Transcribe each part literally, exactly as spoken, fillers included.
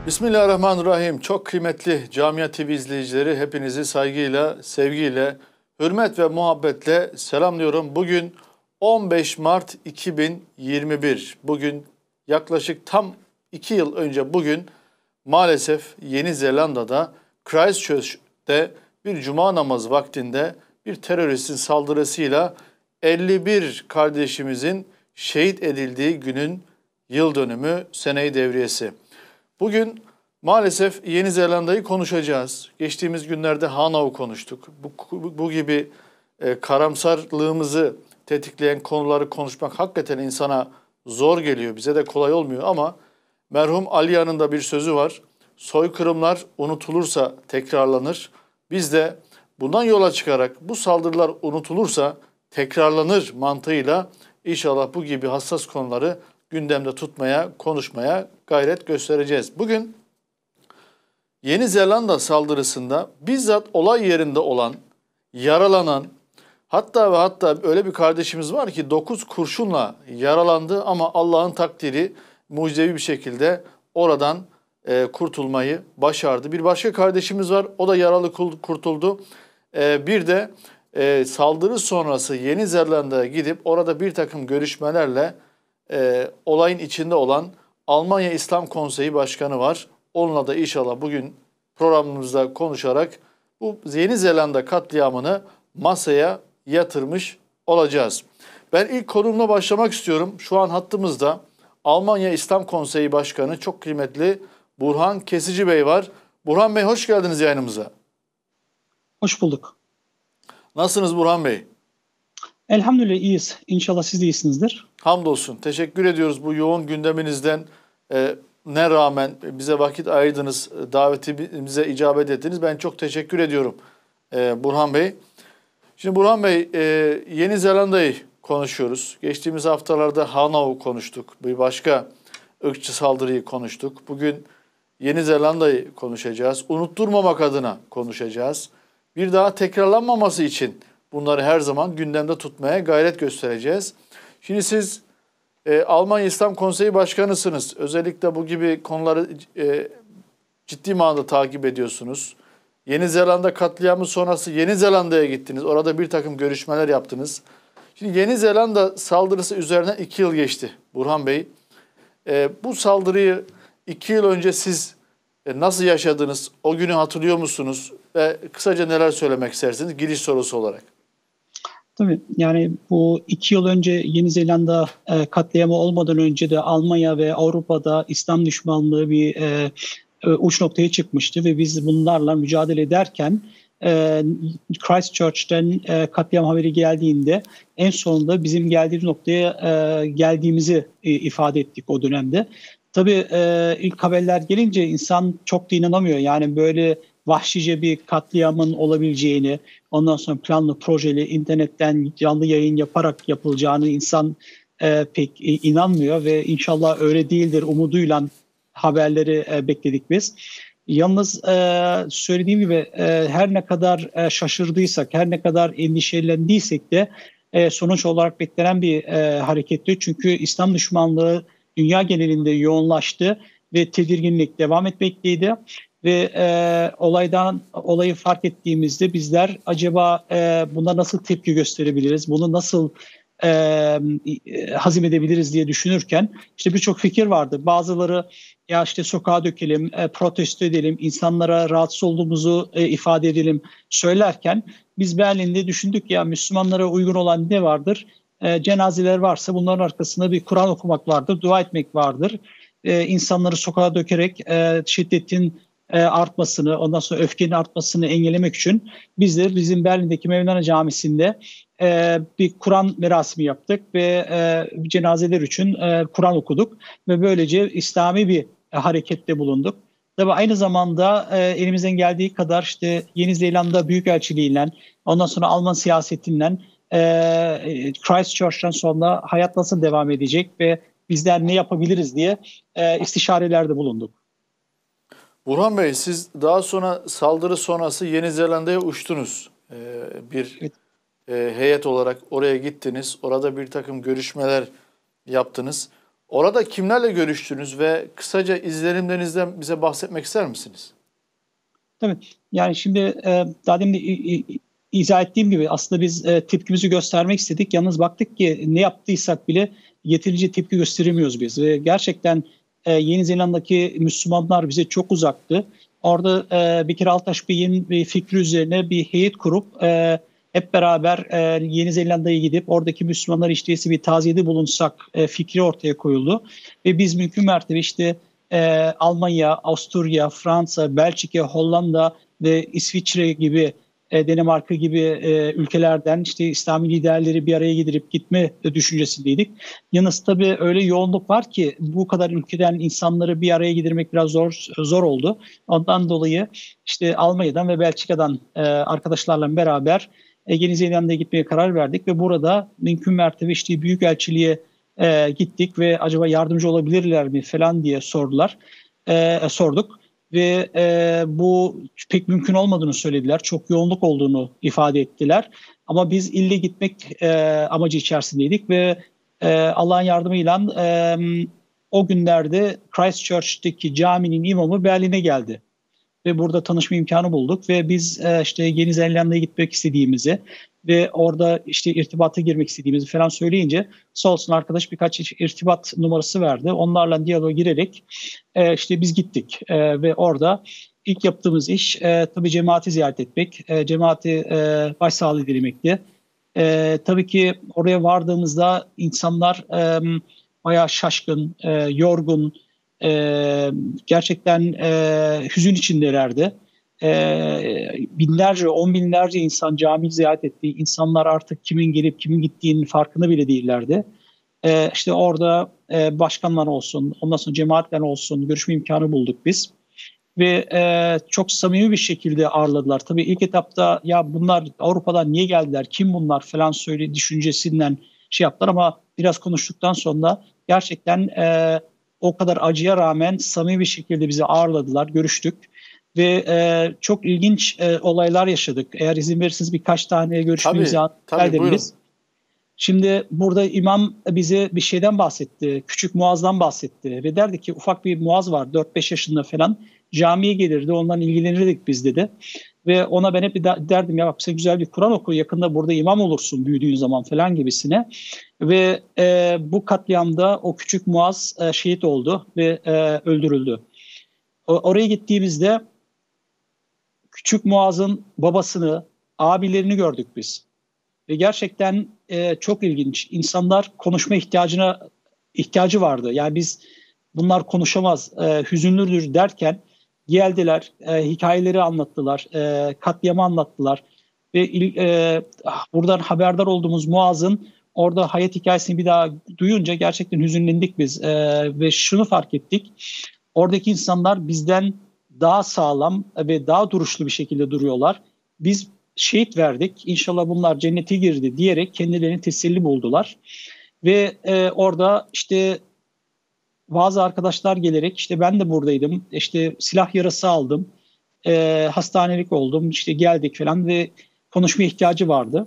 Bismillahirrahmanirrahim. Çok kıymetli Camia T V izleyicileri, hepinizi saygıyla, sevgiyle, hürmet ve muhabbetle selamlıyorum. Bugün on beş Mart iki bin yirmi bir. Bugün yaklaşık tam iki yıl önce bugün maalesef Yeni Zelanda'da Christchurch'te bir cuma namazı vaktinde bir teröristin saldırısıyla elli bir kardeşimizin şehit edildiği günün yıl dönümü, sene-i devriyesi. Bugün maalesef Yeni Zelanda'yı konuşacağız. Geçtiğimiz günlerde Hanau'yu konuştuk. Bu, bu gibi e, karamsarlığımızı tetikleyen konuları konuşmak hakikaten insana zor geliyor. Bize de kolay olmuyor ama merhum Aliya'nın da bir sözü var. Soykırımlar unutulursa tekrarlanır. Biz de bundan yola çıkarak bu saldırılar unutulursa tekrarlanır mantığıyla inşallah bu gibi hassas konuları gündemde tutmaya, konuşmaya gayret göstereceğiz. Bugün Yeni Zelanda saldırısında bizzat olay yerinde olan, yaralanan, hatta ve hatta öyle bir kardeşimiz var ki dokuz kurşunla yaralandı ama Allah'ın takdiri mucizevi bir şekilde oradan e, kurtulmayı başardı. Bir başka kardeşimiz var, o da yaralı kurtuldu. E, bir de e, saldırı sonrası Yeni Zelanda'ya gidip orada bir takım görüşmelerle e, olayın içinde olan Almanya İslam Konseyi Başkanı var. Onunla da inşallah bugün programımızda konuşarak bu Yeni Zelanda katliamını masaya yatırmış olacağız. Ben ilk konumla başlamak istiyorum. Şu an hattımızda Almanya İslam Konseyi Başkanı çok kıymetli Burhan Kesici Bey var. Burhan Bey, hoş geldiniz yayınımıza. Hoş bulduk. Nasılsınız Burhan Bey? Elhamdülillah iyiyiz. İnşallah siz de iyisinizdir. Hamdolsun. Teşekkür ediyoruz bu yoğun gündeminizden e, ne rağmen bize vakit ayırdınız, davetimize icabet ettiniz. Ben çok teşekkür ediyorum e, Burhan Bey. Şimdi Burhan Bey, e, Yeni Zelanda'yı konuşuyoruz. Geçtiğimiz haftalarda Hanau konuştuk. Bir başka ırkçı saldırıyı konuştuk. Bugün Yeni Zelanda'yı konuşacağız. Unutturmamak adına konuşacağız. Bir daha tekrarlanmaması için bunları her zaman gündemde tutmaya gayret göstereceğiz. Şimdi siz e, Almanya İslam Konseyi Başkanısınız. Özellikle bu gibi konuları e, ciddi manada takip ediyorsunuz. Yeni Zelanda katliamı sonrası Yeni Zelanda'ya gittiniz. Orada bir takım görüşmeler yaptınız. Şimdi Yeni Zelanda saldırısı üzerinden iki yıl geçti Burhan Bey. E, bu saldırıyı iki yıl önce siz e, nasıl yaşadınız? O günü hatırlıyor musunuz? Ve kısaca neler söylemek istersiniz giriş sorusu olarak? Tabii yani bu iki yıl önce Yeni Zelanda e, katliamı olmadan önce de Almanya ve Avrupa'da İslam düşmanlığı bir e, e, uç noktaya çıkmıştı ve biz bunlarla mücadele ederken e, Christchurch'ten e, katliam haberi geldiğinde en sonunda bizim geldiğimiz noktaya e, geldiğimizi e, ifade ettik o dönemde. Tabii e, ilk haberler gelince insan çok da inanamıyor. Yani böyle vahşice bir katliamın olabileceğini, ondan sonra planlı projeli internetten canlı yayın yaparak yapılacağını insan e, pek inanmıyor ve inşallah öyle değildir umuduyla haberleri e, bekledik biz. Yalnız e, söylediğim gibi e, her ne kadar e, şaşırdıysak, her ne kadar endişelendiysek de e, sonuç olarak beklenen bir e, hareketti. Çünkü İslam düşmanlığı dünya genelinde yoğunlaştı ve tedirginlik devam etmekteydi. Ve e, olaydan olayı fark ettiğimizde bizler acaba e, buna nasıl tepki gösterebiliriz, bunu nasıl e, e, hazmedebiliriz diye düşünürken işte birçok fikir vardı. Bazıları ya işte sokağa dökelim, e, protesto edelim, insanlara rahatsız olduğumuzu e, ifade edelim söylerken biz Berlin'de düşündük ya Müslümanlara uygun olan ne vardır? E, cenazeler varsa bunların arkasında bir Kur'an okumak vardır, dua etmek vardır. E, insanları sokağa dökerek e, şiddetin artmasını, ondan sonra öfkenin artmasını engellemek için biz de bizim Berlin'deki Mevlana Camisi'nde e, bir Kur'an merasimi yaptık ve e, cenazeler için e, Kur'an okuduk ve böylece İslami bir e, harekette bulunduk. Tabii aynı zamanda e, elimizden geldiği kadar işte Yeni Zelanda Büyükelçiliğiyle, ondan sonra Alman siyasetinden e, Christchurch'tan sonra hayat nasıl devam edecek ve bizler ne yapabiliriz diye e, istişarelerde bulunduk. Burhan Bey, siz daha sonra saldırı sonrası Yeni Zelanda'ya uçtunuz. Ee, bir Evet. e, heyet olarak oraya gittiniz. Orada bir takım görüşmeler yaptınız. Orada kimlerle görüştünüz ve kısaca izlenimlerinizden bize bahsetmek ister misiniz? Tabii. Yani şimdi e, daha demin de i- i- izah ettiğim gibi aslında biz e, tepkimizi göstermek istedik. Yalnız baktık ki ne yaptıysak bile yeterince tepki gösteremiyoruz biz. Ve gerçekten e, Yeni Zelanda'daki Müslümanlar bize çok uzaktı. Orada e, Bekir Altaş Bey'in bir fikri üzerine bir heyet kurup e, hep beraber e, Yeni Zelanda'ya gidip oradaki Müslümanlar işte bir taziyede bulunsak e, fikri ortaya koyuldu. Ve biz mümkün mertebe işte e, Almanya, Avusturya, Fransa, Belçika, Hollanda ve İsviçre gibi, e, Danimarka gibi e, ülkelerden işte İslami liderleri bir araya getirip gitme düşüncesindeydik. Yalnız tabii öyle yoğunluk var ki bu kadar ülkeden insanları bir araya getirmek biraz zor zor oldu. Ondan dolayı işte Almanya'dan ve Belçika'dan e, arkadaşlarla beraber e, Yeni Zelanda'ya gitmeye karar verdik ve burada mümkün mertebe işte büyükelçiliğe e, gittik ve acaba yardımcı olabilirler mi falan diye sordular, e, sorduk. Ve e, bu pek mümkün olmadığını söylediler. Çok yoğunluk olduğunu ifade ettiler. Ama biz ille gitmek e, amacı içerisindeydik ve e, Allah'ın yardımıyla e, o günlerde Christchurch'teki caminin imamı Berlin'e geldi. Ve burada tanışma imkanı bulduk ve biz e, işte Yeni Zelanda'ya gitmek istediğimizi ve orada işte irtibata girmek istediğimizi falan söyleyince sağ olsun arkadaş birkaç irtibat numarası verdi. Onlarla diyaloğa girerek e, işte biz gittik e, ve orada ilk yaptığımız iş e, tabii cemaati ziyaret etmek, e, cemaati e, başsağlığı dilemekti. E, tabii ki oraya vardığımızda insanlar e, bayağı şaşkın, e, yorgun, e, gerçekten e, hüzün içindelerdi. E, binlerce, on binlerce insan cami ziyaret etti. İnsanlar artık kimin gelip kimin gittiğinin farkında bile değillerdi. E, işte orada e, başkanlar olsun, ondan sonra cemaatler olsun görüşme imkanı bulduk biz. Ve e, çok samimi bir şekilde ağırladılar. Tabii ilk etapta ya bunlar Avrupa'dan niye geldiler, kim bunlar falan söyle düşüncesinden şey yaptılar ama biraz konuştuktan sonra gerçekten e, o kadar acıya rağmen samimi bir şekilde bizi ağırladılar, görüştük. Ve e, çok ilginç e, olaylar yaşadık. Eğer izin verirseniz birkaç tane görüşmemizi Tabii, tabii buyurun. biz. Şimdi burada imam bize bir şeyden bahsetti. Küçük Muaz'dan bahsetti. Ve derdi ki ufak bir Muaz var dört beş yaşında falan. Camiye gelirdi ondan ilgilenirdik biz dedi. Ve ona ben hep derdim ya bak sen güzel bir Kur'an oku yakında burada imam olursun büyüdüğün zaman falan gibisine. Ve e, bu katliamda o küçük Muaz e, şehit oldu ve e, öldürüldü. O, oraya gittiğimizde küçük Muaz'ın babasını, abilerini gördük biz. Ve gerçekten e, çok ilginç. İnsanlar konuşma ihtiyacına ihtiyacı vardı. Yani biz bunlar konuşamaz, e, hüzünlüdür derken geldiler, e, hikayeleri anlattılar, e, katliamı anlattılar. Ve e, buradan haberdar olduğumuz Muaz'ın orada hayat hikayesini bir daha duyunca gerçekten hüzünlendik biz. E, ve şunu fark ettik. Oradaki insanlar bizden daha sağlam ve daha duruşlu bir şekilde duruyorlar. Biz şehit verdik. İnşallah bunlar cennete girdi diyerek kendilerini teselli buldular. Ve e, orada işte bazı arkadaşlar gelerek işte ben de buradaydım. İşte silah yarası aldım. E, hastanelik oldum. İşte geldik falan ve konuşma ihtiyacı vardı.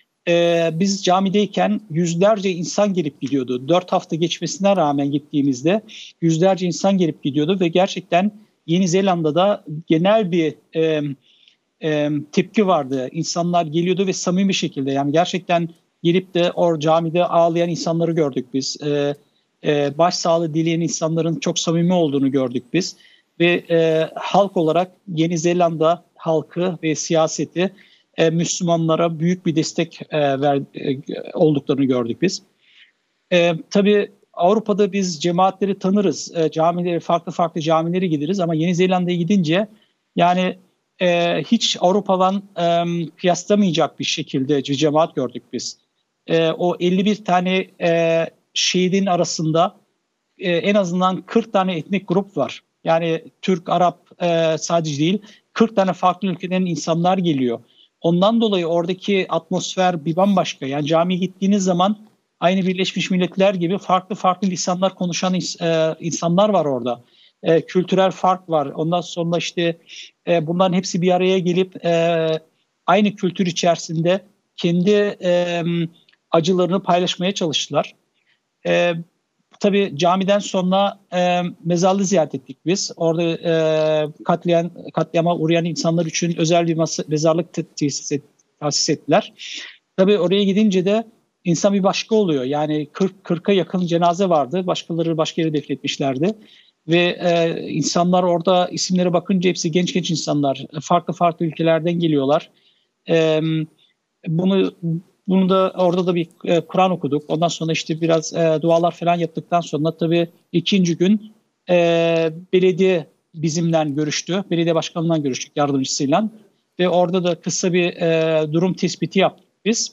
E, biz camideyken yüzlerce insan gelip gidiyordu. Dört hafta geçmesine rağmen gittiğimizde yüzlerce insan gelip gidiyordu ve gerçekten Yeni Zelanda'da genel bir e, e, tepki vardı. İnsanlar geliyordu ve samimi bir şekilde yani gerçekten gelip de o camide ağlayan insanları gördük biz. E, e, başsağlığı dileyen insanların çok samimi olduğunu gördük biz. Ve e, halk olarak Yeni Zelanda halkı ve siyaseti e, Müslümanlara büyük bir destek e, ver, e, olduklarını gördük biz. E, tabii Avrupa'da biz cemaatleri tanırız. E, camileri farklı farklı camilere gideriz ama Yeni Zelanda'ya gidince yani e, hiç Avrupa'dan e, kıyaslamayacak bir şekilde bir cemaat gördük biz. E, o elli bir tane e, şehidin arasında e, en azından kırk tane etnik grup var. Yani Türk, Arap e, sadece değil kırk tane farklı ülkeden insanlar geliyor. Ondan dolayı oradaki atmosfer bir bambaşka. Yani camiye gittiğiniz zaman aynı Birleşmiş Milletler gibi farklı farklı lisanlar konuşan e, insanlar var orada. E, kültürel fark var. Ondan sonra işte e, bunların hepsi bir araya gelip e, aynı kültür içerisinde kendi e, acılarını paylaşmaya çalıştılar. E, tabii camiden sonra e, mezarlığı ziyaret ettik biz. Orada e, katliam, katliama uğrayan insanlar için özel bir masa, mezarlık tesis, et, tesis ettiler. Tabii oraya gidince de insan bir başka oluyor. Yani kırk kırka yakın cenaze vardı. Başkaları başka yere defnetmişlerdi. Ve e, insanlar orada isimlere bakınca hepsi genç genç insanlar. Farklı farklı ülkelerden geliyorlar. E, bunu bunu da orada da bir e, Kur'an okuduk. Ondan sonra işte biraz e, dualar falan yaptıktan sonra tabii ikinci gün e, belediye bizimle görüştü. Belediye başkanından görüştük yardımcısıyla. Ve orada da kısa bir e, durum tespiti yaptık biz.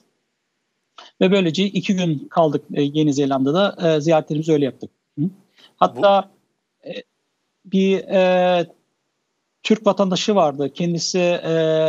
Ve böylece iki gün kaldık e, Yeni Zelanda'da. E, ziyaretlerimizi öyle yaptık. Hı? Hatta e, bir e, Türk vatandaşı vardı. Kendisi e,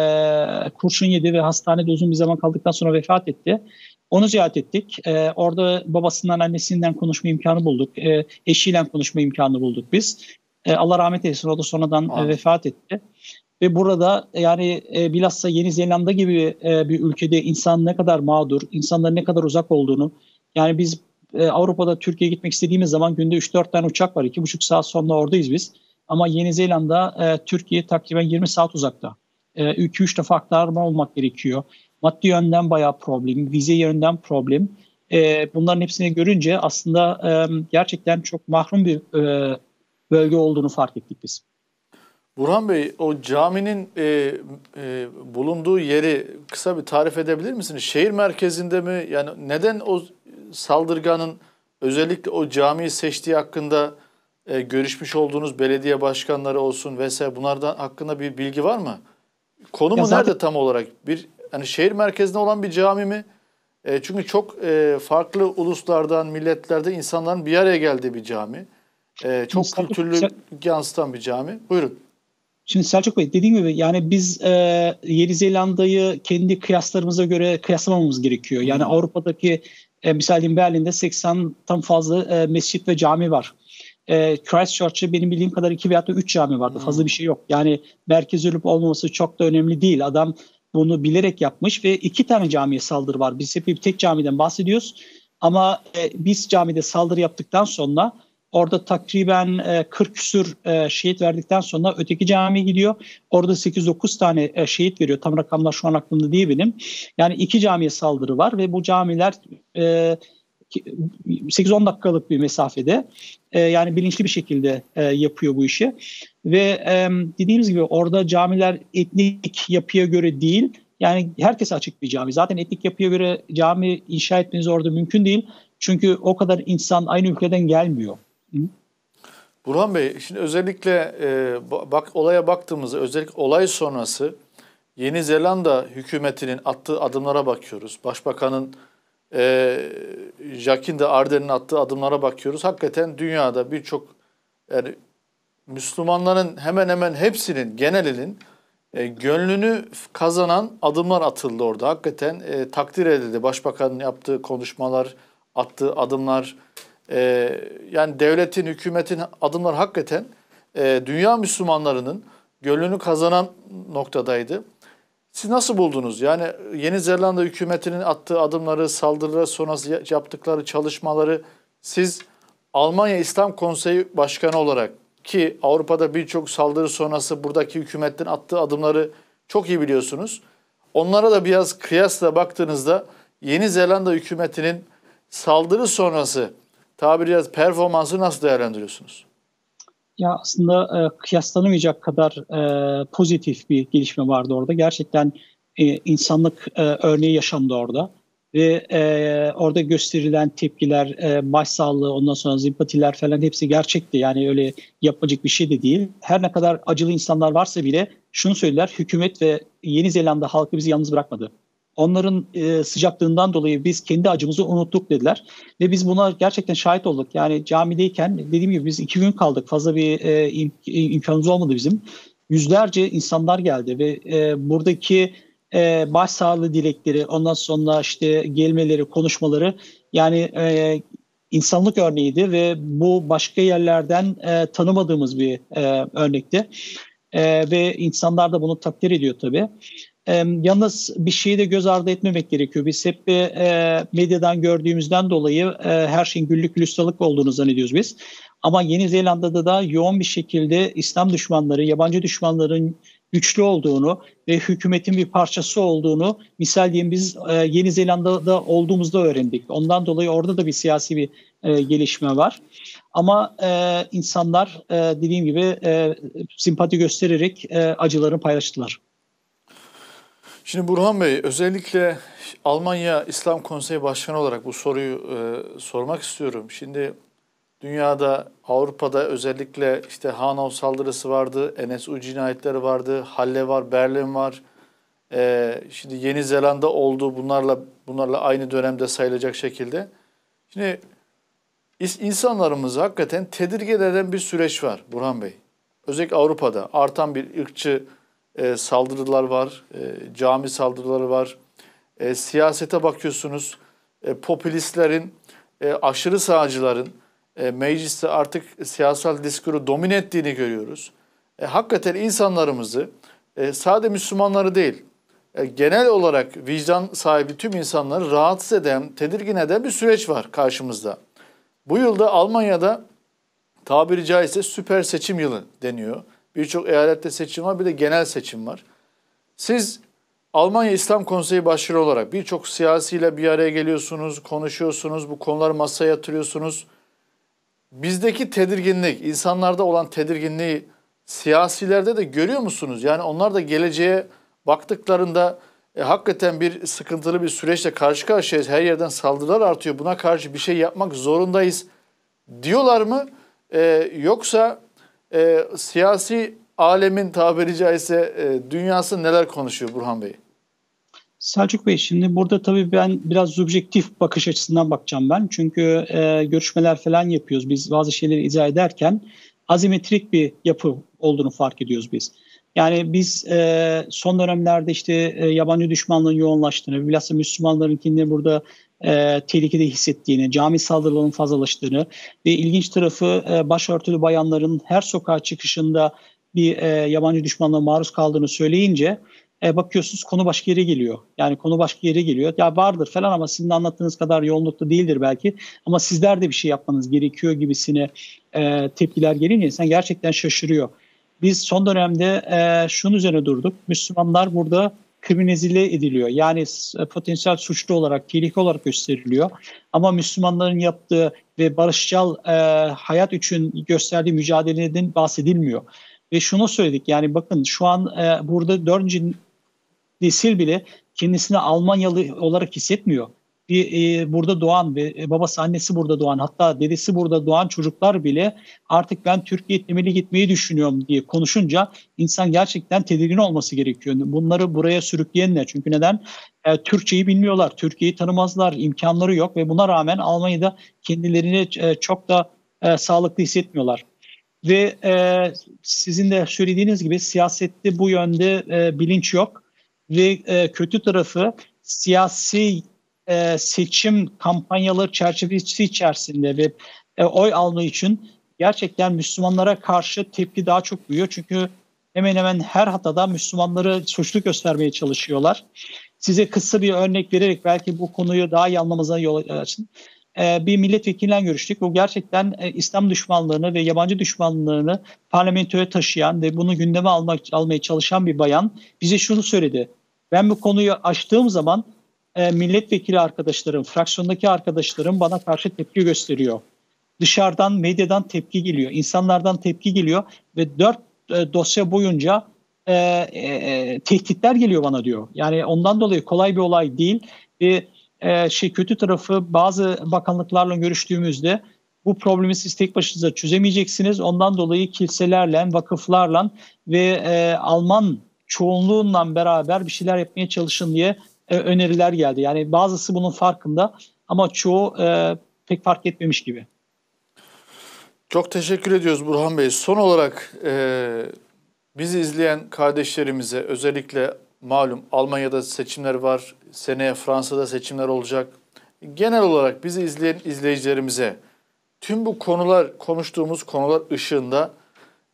kurşun yedi ve hastanede uzun bir zaman kaldıktan sonra vefat etti. Onu ziyaret ettik. E, orada babasından, annesinden konuşma imkanı bulduk. E, eşiyle konuşma imkanı bulduk biz. E, Allah rahmet eylesin. O da sonradan e, vefat etti. Ve burada yani e, bilhassa Yeni Zelanda gibi e, bir ülkede insan ne kadar mağdur, insanların ne kadar uzak olduğunu. Yani biz e, Avrupa'da Türkiye'ye gitmek istediğimiz zaman günde üç dört tane uçak var. iki buçuk saat sonra oradayız biz. Ama Yeni Zelanda e, Türkiye takriben yirmi saat uzakta. iki üç defa aktarma olmak gerekiyor. Maddi yönden bayağı problem, vize yönden problem. E, bunların hepsini görünce aslında e, gerçekten çok mahrum bir e, bölge olduğunu fark ettik biz. Burhan Bey, o caminin e, e, bulunduğu yeri kısa bir tarif edebilir misiniz? Şehir merkezinde mi? Yani neden o saldırganın özellikle o camiyi seçtiği hakkında e, görüşmüş olduğunuz belediye başkanları olsun vesaire, bunlardan hakkında bir bilgi var mı? Konumu zaten nerede tam olarak? Bir hani şehir merkezinde olan bir cami mi? E, çünkü çok e, farklı uluslardan, milletlerden insanların bir araya geldiği bir cami. E, çok Selçuk, kültürlü Sel yansıtan bir cami. Buyurun. Şimdi Selçuk Bey, dediğim gibi yani biz e, Yeni Zelanda'yı kendi kıyaslarımıza göre kıyaslamamız gerekiyor. Yani hmm. Avrupa'daki e, misal Berlin'de seksen'ten fazla e, mescit ve cami var. E, Christchurch'te benim bildiğim kadar iki veya üç cami vardı. Hmm. Fazla bir şey yok. Yani merkez olup olmaması çok da önemli değil. Adam bunu bilerek yapmış ve iki tane camiye saldırı var. Biz hep bir tek camiden bahsediyoruz. Ama e, biz camide saldırı yaptıktan sonra orada takriben e, kırk küsür e, şehit verdikten sonra öteki camiye gidiyor. Orada sekiz dokuz tane e, şehit veriyor. Tam rakamlar şu an aklımda değil benim. Yani iki camiye saldırı var ve bu camiler e, sekiz on dakikalık bir mesafede. E, yani bilinçli bir şekilde e, yapıyor bu işi. Ve e, dediğimiz gibi orada camiler etnik yapıya göre değil. Yani herkese açık bir cami. Zaten etnik yapıya göre cami inşa etmeniz orada mümkün değil. Çünkü o kadar insan aynı ülkeden gelmiyor. Hı? Burhan Bey, şimdi özellikle e, bak olaya baktığımızda, özellikle olay sonrası Yeni Zelanda hükümetinin attığı adımlara bakıyoruz. Başbakanın e, Jacinda Ardern'in attığı adımlara bakıyoruz. Hakikaten dünyada birçok yani Müslümanların hemen hemen hepsinin, genelinin e, gönlünü kazanan adımlar atıldı orada. Hakikaten e, takdir edildi. Başbakanın yaptığı konuşmalar, attığı adımlar. Ee, yani devletin, hükümetin adımları hakikaten e, dünya Müslümanlarının gönlünü kazanan noktadaydı. Siz nasıl buldunuz? Yani Yeni Zelanda hükümetinin attığı adımları, saldırıları sonrası yaptıkları çalışmaları siz Almanya İslam Konseyi Başkanı olarak, ki Avrupa'da birçok saldırı sonrası buradaki hükümetin attığı adımları çok iyi biliyorsunuz. Onlara da biraz kıyasla baktığınızda Yeni Zelanda hükümetinin saldırı sonrası tabiri caizse performansı nasıl değerlendiriyorsunuz? Ya aslında e, kıyaslanamayacak kadar e, pozitif bir gelişme vardı orada. Gerçekten e, insanlık e, örneği yaşandı orada. Ve e, orada gösterilen tepkiler, e, başsağlığı, ondan sonra simpatiler falan hepsi gerçekti. Yani öyle yapmacık bir şey de değil. Her ne kadar acılı insanlar varsa bile şunu söylediler: hükümet ve Yeni Zelanda halkı bizi yalnız bırakmadı. Onların e, sıcaklığından dolayı biz kendi acımızı unuttuk dediler. Ve biz buna gerçekten şahit olduk. Yani camideyken dediğim gibi biz iki gün kaldık. Fazla bir e, im, imkanımız olmadı bizim. Yüzlerce insanlar geldi ve e, buradaki e, başsağlığı dilekleri, ondan sonra işte gelmeleri, konuşmaları yani e, insanlık örneğiydi ve bu başka yerlerden e, tanımadığımız bir e, örnekti. E, ve insanlar da bunu takdir ediyor tabii. E, yalnız bir şeyi de göz ardı etmemek gerekiyor. Biz hep bir e, medyadan gördüğümüzden dolayı e, her şeyin güllük gülistanlık olduğunu zannediyoruz biz. Ama Yeni Zelanda'da da yoğun bir şekilde İslam düşmanları, yabancı düşmanların güçlü olduğunu ve hükümetin bir parçası olduğunu misal diyeyim biz e, Yeni Zelanda'da olduğumuzda öğrendik. Ondan dolayı orada da bir siyasi bir e, gelişme var. Ama e, insanlar e, dediğim gibi e, simpati göstererek e, acılarını paylaştılar. Şimdi Burhan Bey, özellikle Almanya İslam Konseyi Başkanı olarak bu soruyu e, sormak istiyorum. Şimdi dünyada, Avrupa'da özellikle işte Hanau saldırısı vardı, N S U cinayetleri vardı, Halle var, Berlin var. E, şimdi Yeni Zelanda oldu, bunlarla bunlarla aynı dönemde sayılacak şekilde. Şimdi insanlarımızı hakikaten tedirgin eden bir süreç var Burhan Bey. Özellikle Avrupa'da artan bir ırkçı e, saldırılar var, e, cami saldırıları var. E, siyasete bakıyorsunuz, e, popülistlerin, e, aşırı sağcıların e, mecliste artık siyasal diskuru domine ettiğini görüyoruz. E, hakikaten insanlarımızı, e, sadece Müslümanları değil, e, genel olarak vicdan sahibi tüm insanları rahatsız eden, tedirgin eden bir süreç var karşımızda. Bu yılda Almanya'da tabiri caizse süper seçim yılı deniyor. Birçok eyalette seçim var, bir de genel seçim var. Siz Almanya İslam Konseyi Başkanı olarak birçok siyasiyle bir araya geliyorsunuz, konuşuyorsunuz, bu konuları masaya yatırıyorsunuz. Bizdeki tedirginlik, insanlarda olan tedirginliği siyasilerde de görüyor musunuz? Yani onlar da geleceğe baktıklarında e, hakikaten bir sıkıntılı bir süreçle karşı karşıyayız. Her yerden saldırılar artıyor. Buna karşı bir şey yapmak zorundayız diyorlar mı? E, yoksa e, siyasi alemin tabiri caizse e, dünyası neler konuşuyor Burhan Bey? Selçuk Bey, şimdi burada tabii ben biraz subjektif bakış açısından bakacağım ben. Çünkü e, görüşmeler falan yapıyoruz. Biz bazı şeyleri izah ederken azimetrik bir yapı olduğunu fark ediyoruz biz. Yani biz e, son dönemlerde işte e, yabancı düşmanlığın yoğunlaştığını, bilhassa Müslümanlarınkini burada e, tehlikede hissettiğini, cami saldırılarının fazlalaştığını ve ilginç tarafı e, başörtülü bayanların her sokağa çıkışında bir e, yabancı düşmanlığa maruz kaldığını söyleyince e, bakıyorsunuz konu başka yere geliyor. Yani konu başka yere geliyor. Ya vardır falan ama sizin anlattığınız kadar yoğunlukta değildir belki. Ama sizler de bir şey yapmanız gerekiyor gibisine e, tepkiler gelince insan gerçekten şaşırıyor. Biz son dönemde e, şunun üzerine durduk. Müslümanlar burada kriminalize ediliyor. Yani e, potansiyel suçlu olarak, tehlike olarak gösteriliyor. Ama Müslümanların yaptığı ve barışçıl e, hayat için gösterdiği mücadeleden bahsedilmiyor. Ve şunu söyledik, yani bakın şu an e, burada dördüncü nesil bile kendisini Almanyalı olarak hissetmiyor. Bir e, burada doğan ve e, babası annesi burada doğan, hatta dedesi burada doğan çocuklar bile artık ben Türkiye temeli gitmeyi düşünüyorum diye konuşunca insan gerçekten tedirgin olması gerekiyor. Bunları buraya sürükleyenler, çünkü neden? E, Türkçeyi bilmiyorlar, Türkiye'yi tanımazlar, imkanları yok ve buna rağmen Almanya'da kendilerini e, çok da e, sağlıklı hissetmiyorlar. Ve e, sizin de söylediğiniz gibi siyasette bu yönde e, bilinç yok. Ve e, kötü tarafı siyasi e, seçim kampanyaları çerçevesi içerisinde ve e, oy alma için gerçekten Müslümanlara karşı tepki daha çok büyüyor. Çünkü hemen hemen her hatada Müslümanları suçlu göstermeye çalışıyorlar. Size kısa bir örnek vererek belki bu konuyu daha iyi anlamamıza yol açın. Bir milletvekiliyle görüştük. Bu gerçekten İslam düşmanlığını ve yabancı düşmanlığını parlamentoya taşıyan ve bunu gündeme almak, almaya çalışan bir bayan bize şunu söyledi. Ben bu konuyu açtığım zaman milletvekili arkadaşlarım, fraksiyondaki arkadaşlarım bana karşı tepki gösteriyor. Dışarıdan, medyadan tepki geliyor, insanlardan tepki geliyor ve dört dosya boyunca e, e, tehditler geliyor bana diyor. Yani ondan dolayı kolay bir olay değil ve Ee, şey kötü tarafı bazı bakanlıklarla görüştüğümüzde bu problemi siz tek başınıza çözemeyeceksiniz. Ondan dolayı kiliselerle, vakıflarla ve e, Alman çoğunluğunla beraber bir şeyler yapmaya çalışın diye e, öneriler geldi. Yani bazısı bunun farkında ama çoğu e, pek fark etmemiş gibi. Çok teşekkür ediyoruz Burhan Bey. Son olarak e, bizi izleyen kardeşlerimize, özellikle malum Almanya'da seçimler var, seneye Fransa'da seçimler olacak. Genel olarak bizi izleyen izleyicilerimize tüm bu konular, konuştuğumuz konular ışığında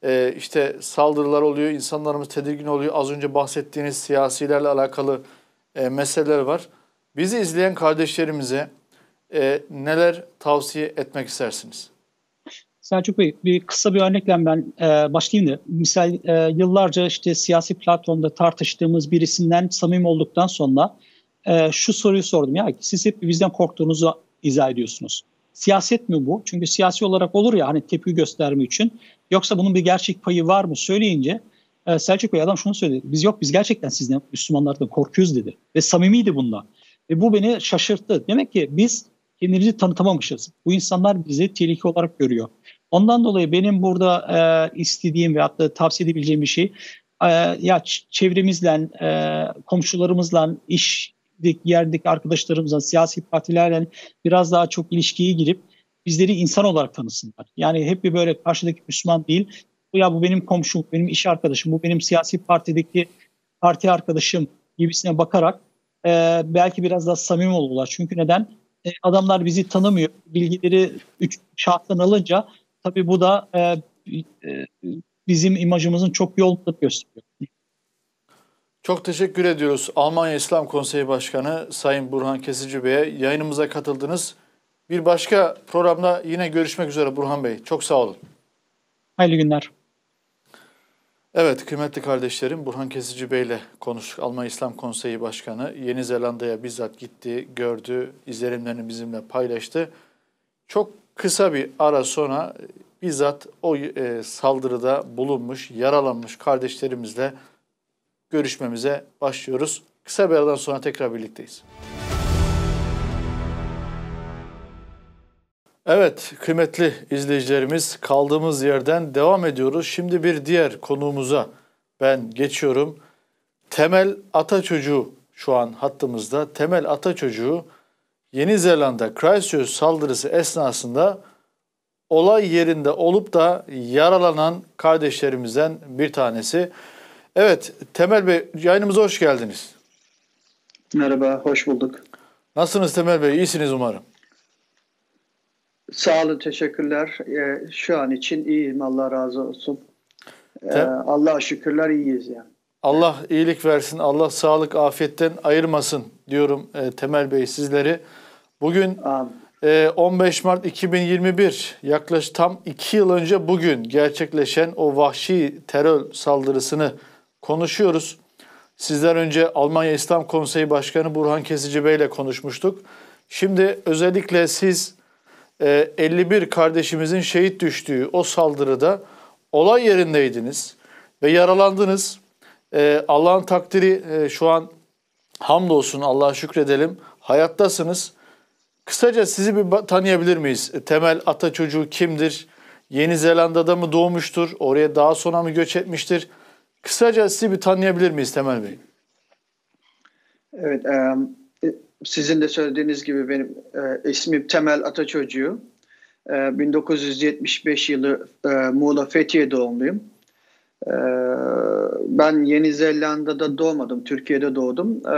e, işte saldırılar oluyor, insanlarımız tedirgin oluyor. Az önce bahsettiğiniz siyasilerle alakalı e, meseleler var. Bizi izleyen kardeşlerimize e, neler tavsiye etmek istersiniz? Selçuk Bey, bir kısa bir örnekle ben e, başlayayım da. Misal e, yıllarca işte siyasi platformda tartıştığımız birisinden samimi olduktan sonra e, şu soruyu sordum. Ya siz hep bizden korktuğunuzu izah ediyorsunuz. Siyaset mi bu? Çünkü siyasi olarak olur ya hani tepki gösterme için. Yoksa bunun bir gerçek payı var mı söyleyince e, Selçuk Bey adam şunu söyledi. Biz yok biz gerçekten sizden Müslümanlardan korkuyoruz dedi. Ve samimiydi bunda. Ve bu beni şaşırttı. Demek ki biz kendimizi tanıtamamışız. Bu insanlar bizi tehlike olarak görüyor. Ondan dolayı benim burada e, istediğim ve hatta tavsiye edebileceğim bir şey e, ya çevremizle, e, komşularımızla, iş yerdeki arkadaşlarımızla, siyasi partilerle biraz daha çok ilişkiye girip bizleri insan olarak tanısınlar. Yani hep bir böyle karşıdaki Müslüman değil. Ya bu benim komşum, benim iş arkadaşım, bu benim siyasi partideki parti arkadaşım gibisine bakarak e, belki biraz daha samimi olurlar. Çünkü neden? E, adamlar bizi tanımıyor. Bilgileri üç şahsen alınca tabii bu da e, e, bizim imajımızın çok iyi olduğunu gösteriyor. Çok teşekkür ediyoruz Almanya İslam Konseyi Başkanı Sayın Burhan Kesici Bey'e. Yayınımıza katıldınız. Bir başka programda yine görüşmek üzere Burhan Bey. Çok sağ olun. Hayırlı günler. Evet kıymetli kardeşlerim, Burhan Kesici Bey ile konuştuk. Almanya İslam Konseyi Başkanı Yeni Zelanda'ya bizzat gitti, gördü, izlenimlerini bizimle paylaştı. Çok kısa bir ara sonra bizzat o e, saldırıda bulunmuş, yaralanmış kardeşlerimizle görüşmemize başlıyoruz. Kısa bir aradan sonra tekrar birlikteyiz. Evet kıymetli izleyicilerimiz, kaldığımız yerden devam ediyoruz. Şimdi bir diğer konuğumuza ben geçiyorum. Temel Ataçocuğu şu an hattımızda. Temel Ataçocuğu Yeni Zelanda Christchurch saldırısı esnasında olay yerinde olup da yaralanan kardeşlerimizden bir tanesi. Evet Temel Bey, yayınımıza hoş geldiniz. Merhaba, hoş bulduk. Nasılsınız Temel Bey? İyisiniz umarım. Sağ olun, teşekkürler. Ee, şu an için iyiyim, Allah razı olsun. Ee, Tem- Allah'a şükürler iyiyiz yani. Allah iyilik versin, Allah sağlık, afiyetten ayırmasın diyorum e, Temel Bey sizleri. Bugün Amin. e, on beş Mart iki bin yirmi bir, yaklaşık tam iki yıl önce bugün gerçekleşen o vahşi terör saldırısını konuşuyoruz. Sizler önce Almanya İslam Konseyi Başkanı Burhan Kesici Bey ile konuşmuştuk. Şimdi özellikle siz e, elli bir kardeşimizin şehit düştüğü o saldırıda olay yerindeydiniz ve yaralandınız. Ee, Allah'ın takdiri e, şu an hamdolsun Allah'a şükredelim hayattasınız. Kısaca sizi bir tanıyabilir miyiz? Temel Ataçocuğu kimdir? Yeni Zelanda'da mı doğmuştur? Oraya daha sonra mı göç etmiştir? Kısaca sizi bir tanıyabilir miyiz Temel Bey? Evet, e, sizin de söylediğiniz gibi benim e, ismim Temel Ataçocuğu. E, bin dokuz yüz yetmiş beş yılı e, Muğla Fethiye doğumluyum. E, ben Yeni Zelanda'da doğmadım, Türkiye'de doğdum. E,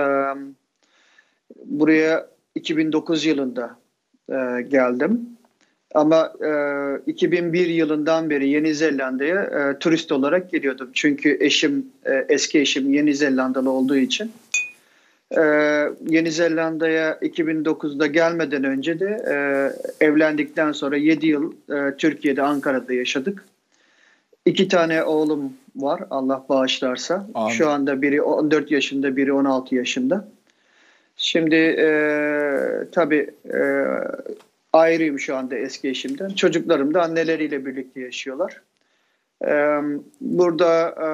buraya iki bin dokuz yılında e, geldim. Ama e, iki bin bir yılından beri Yeni Zelanda'ya e, turist olarak geliyordum. Çünkü eşim, e, eski eşim Yeni Zelandalı olduğu için. E, Yeni Zelanda'ya iki bin dokuzda gelmeden önce de e, evlendikten sonra yedi yıl e, Türkiye'de, Ankara'da yaşadık. İki tane oğlum var, Allah bağışlarsa. Amin. Şu anda biri on dört yaşında, biri on altı yaşında. Şimdi e, tabii e, ayrıyım şu anda eski eşimden. Çocuklarım da anneleriyle birlikte yaşıyorlar. E, burada e,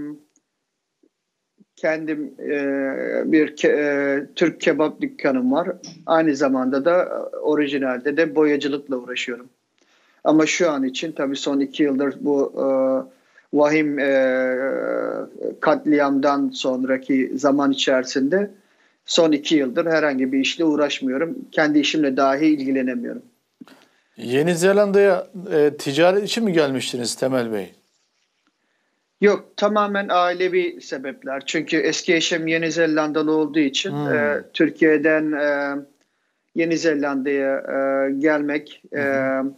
kendim e, bir ke, e, Türk kebap dükkanım var. Aynı zamanda da orijinalde de boyacılıkla uğraşıyorum. Ama şu an için tabii son iki yıldır bu e, vahim e, katliamdan sonraki zaman içerisinde son iki yıldır herhangi bir işle uğraşmıyorum. Kendi işimle dahi ilgilenemiyorum. Yeni Zelanda'ya e, ticaret için mi gelmiştiniz Temel Bey? Yok, tamamen ailevi sebepler. Çünkü eski eşim Yeni Zelandalı olduğu için Hmm. e, Türkiye'den e, Yeni Zelanda'ya e, gelmek, e,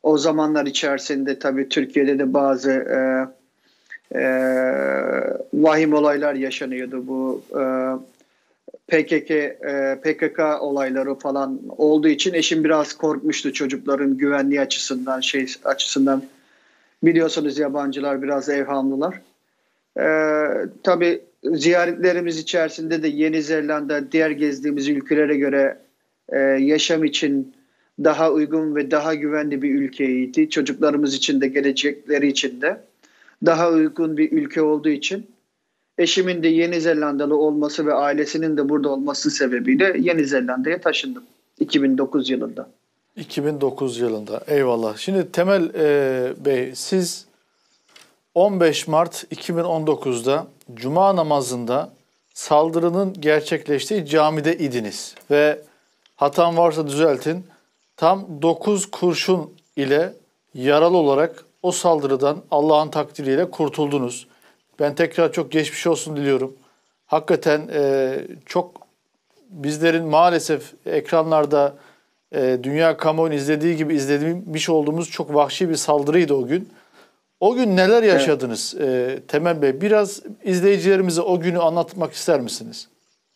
o zamanlar içerisinde tabii Türkiye'de de bazı e, e, vahim olaylar yaşanıyordu. Bu e, P K K e, P K K olayları falan olduğu için eşim biraz korkmuştu çocukların güvenliği açısından, şey açısından. Biliyorsunuz yabancılar biraz evhamlılar. Ee, tabii ziyaretlerimiz içerisinde de Yeni Zelanda diğer gezdiğimiz ülkelere göre e, yaşam için daha uygun ve daha güvenli bir ülkeydi. Çocuklarımız için de gelecekleri için de daha uygun bir ülke olduğu için eşimin de Yeni Zelandalı olması ve ailesinin de burada olması sebebiyle Yeni Zelanda'ya taşındım iki bin dokuz yılında. iki bin dokuz yılında. Eyvallah. Şimdi Temel e, Bey, siz on beş Mart iki bin on dokuz'da Cuma namazında saldırının gerçekleştiği camide idiniz. Ve hatam varsa düzeltin. Tam dokuz kurşun ile yaralı olarak o saldırıdan Allah'ın takdiriyle kurtuldunuz. Ben tekrar çok geçmiş olsun diliyorum. Hakikaten e, çok bizlerin maalesef ekranlarda e, dünya kamuoyunun izlediği gibi izlemiş olduğumuz çok vahşi bir saldırıydı o gün. O gün neler yaşadınız evet. e, Temel Bey? Biraz izleyicilerimize o günü anlatmak ister misiniz?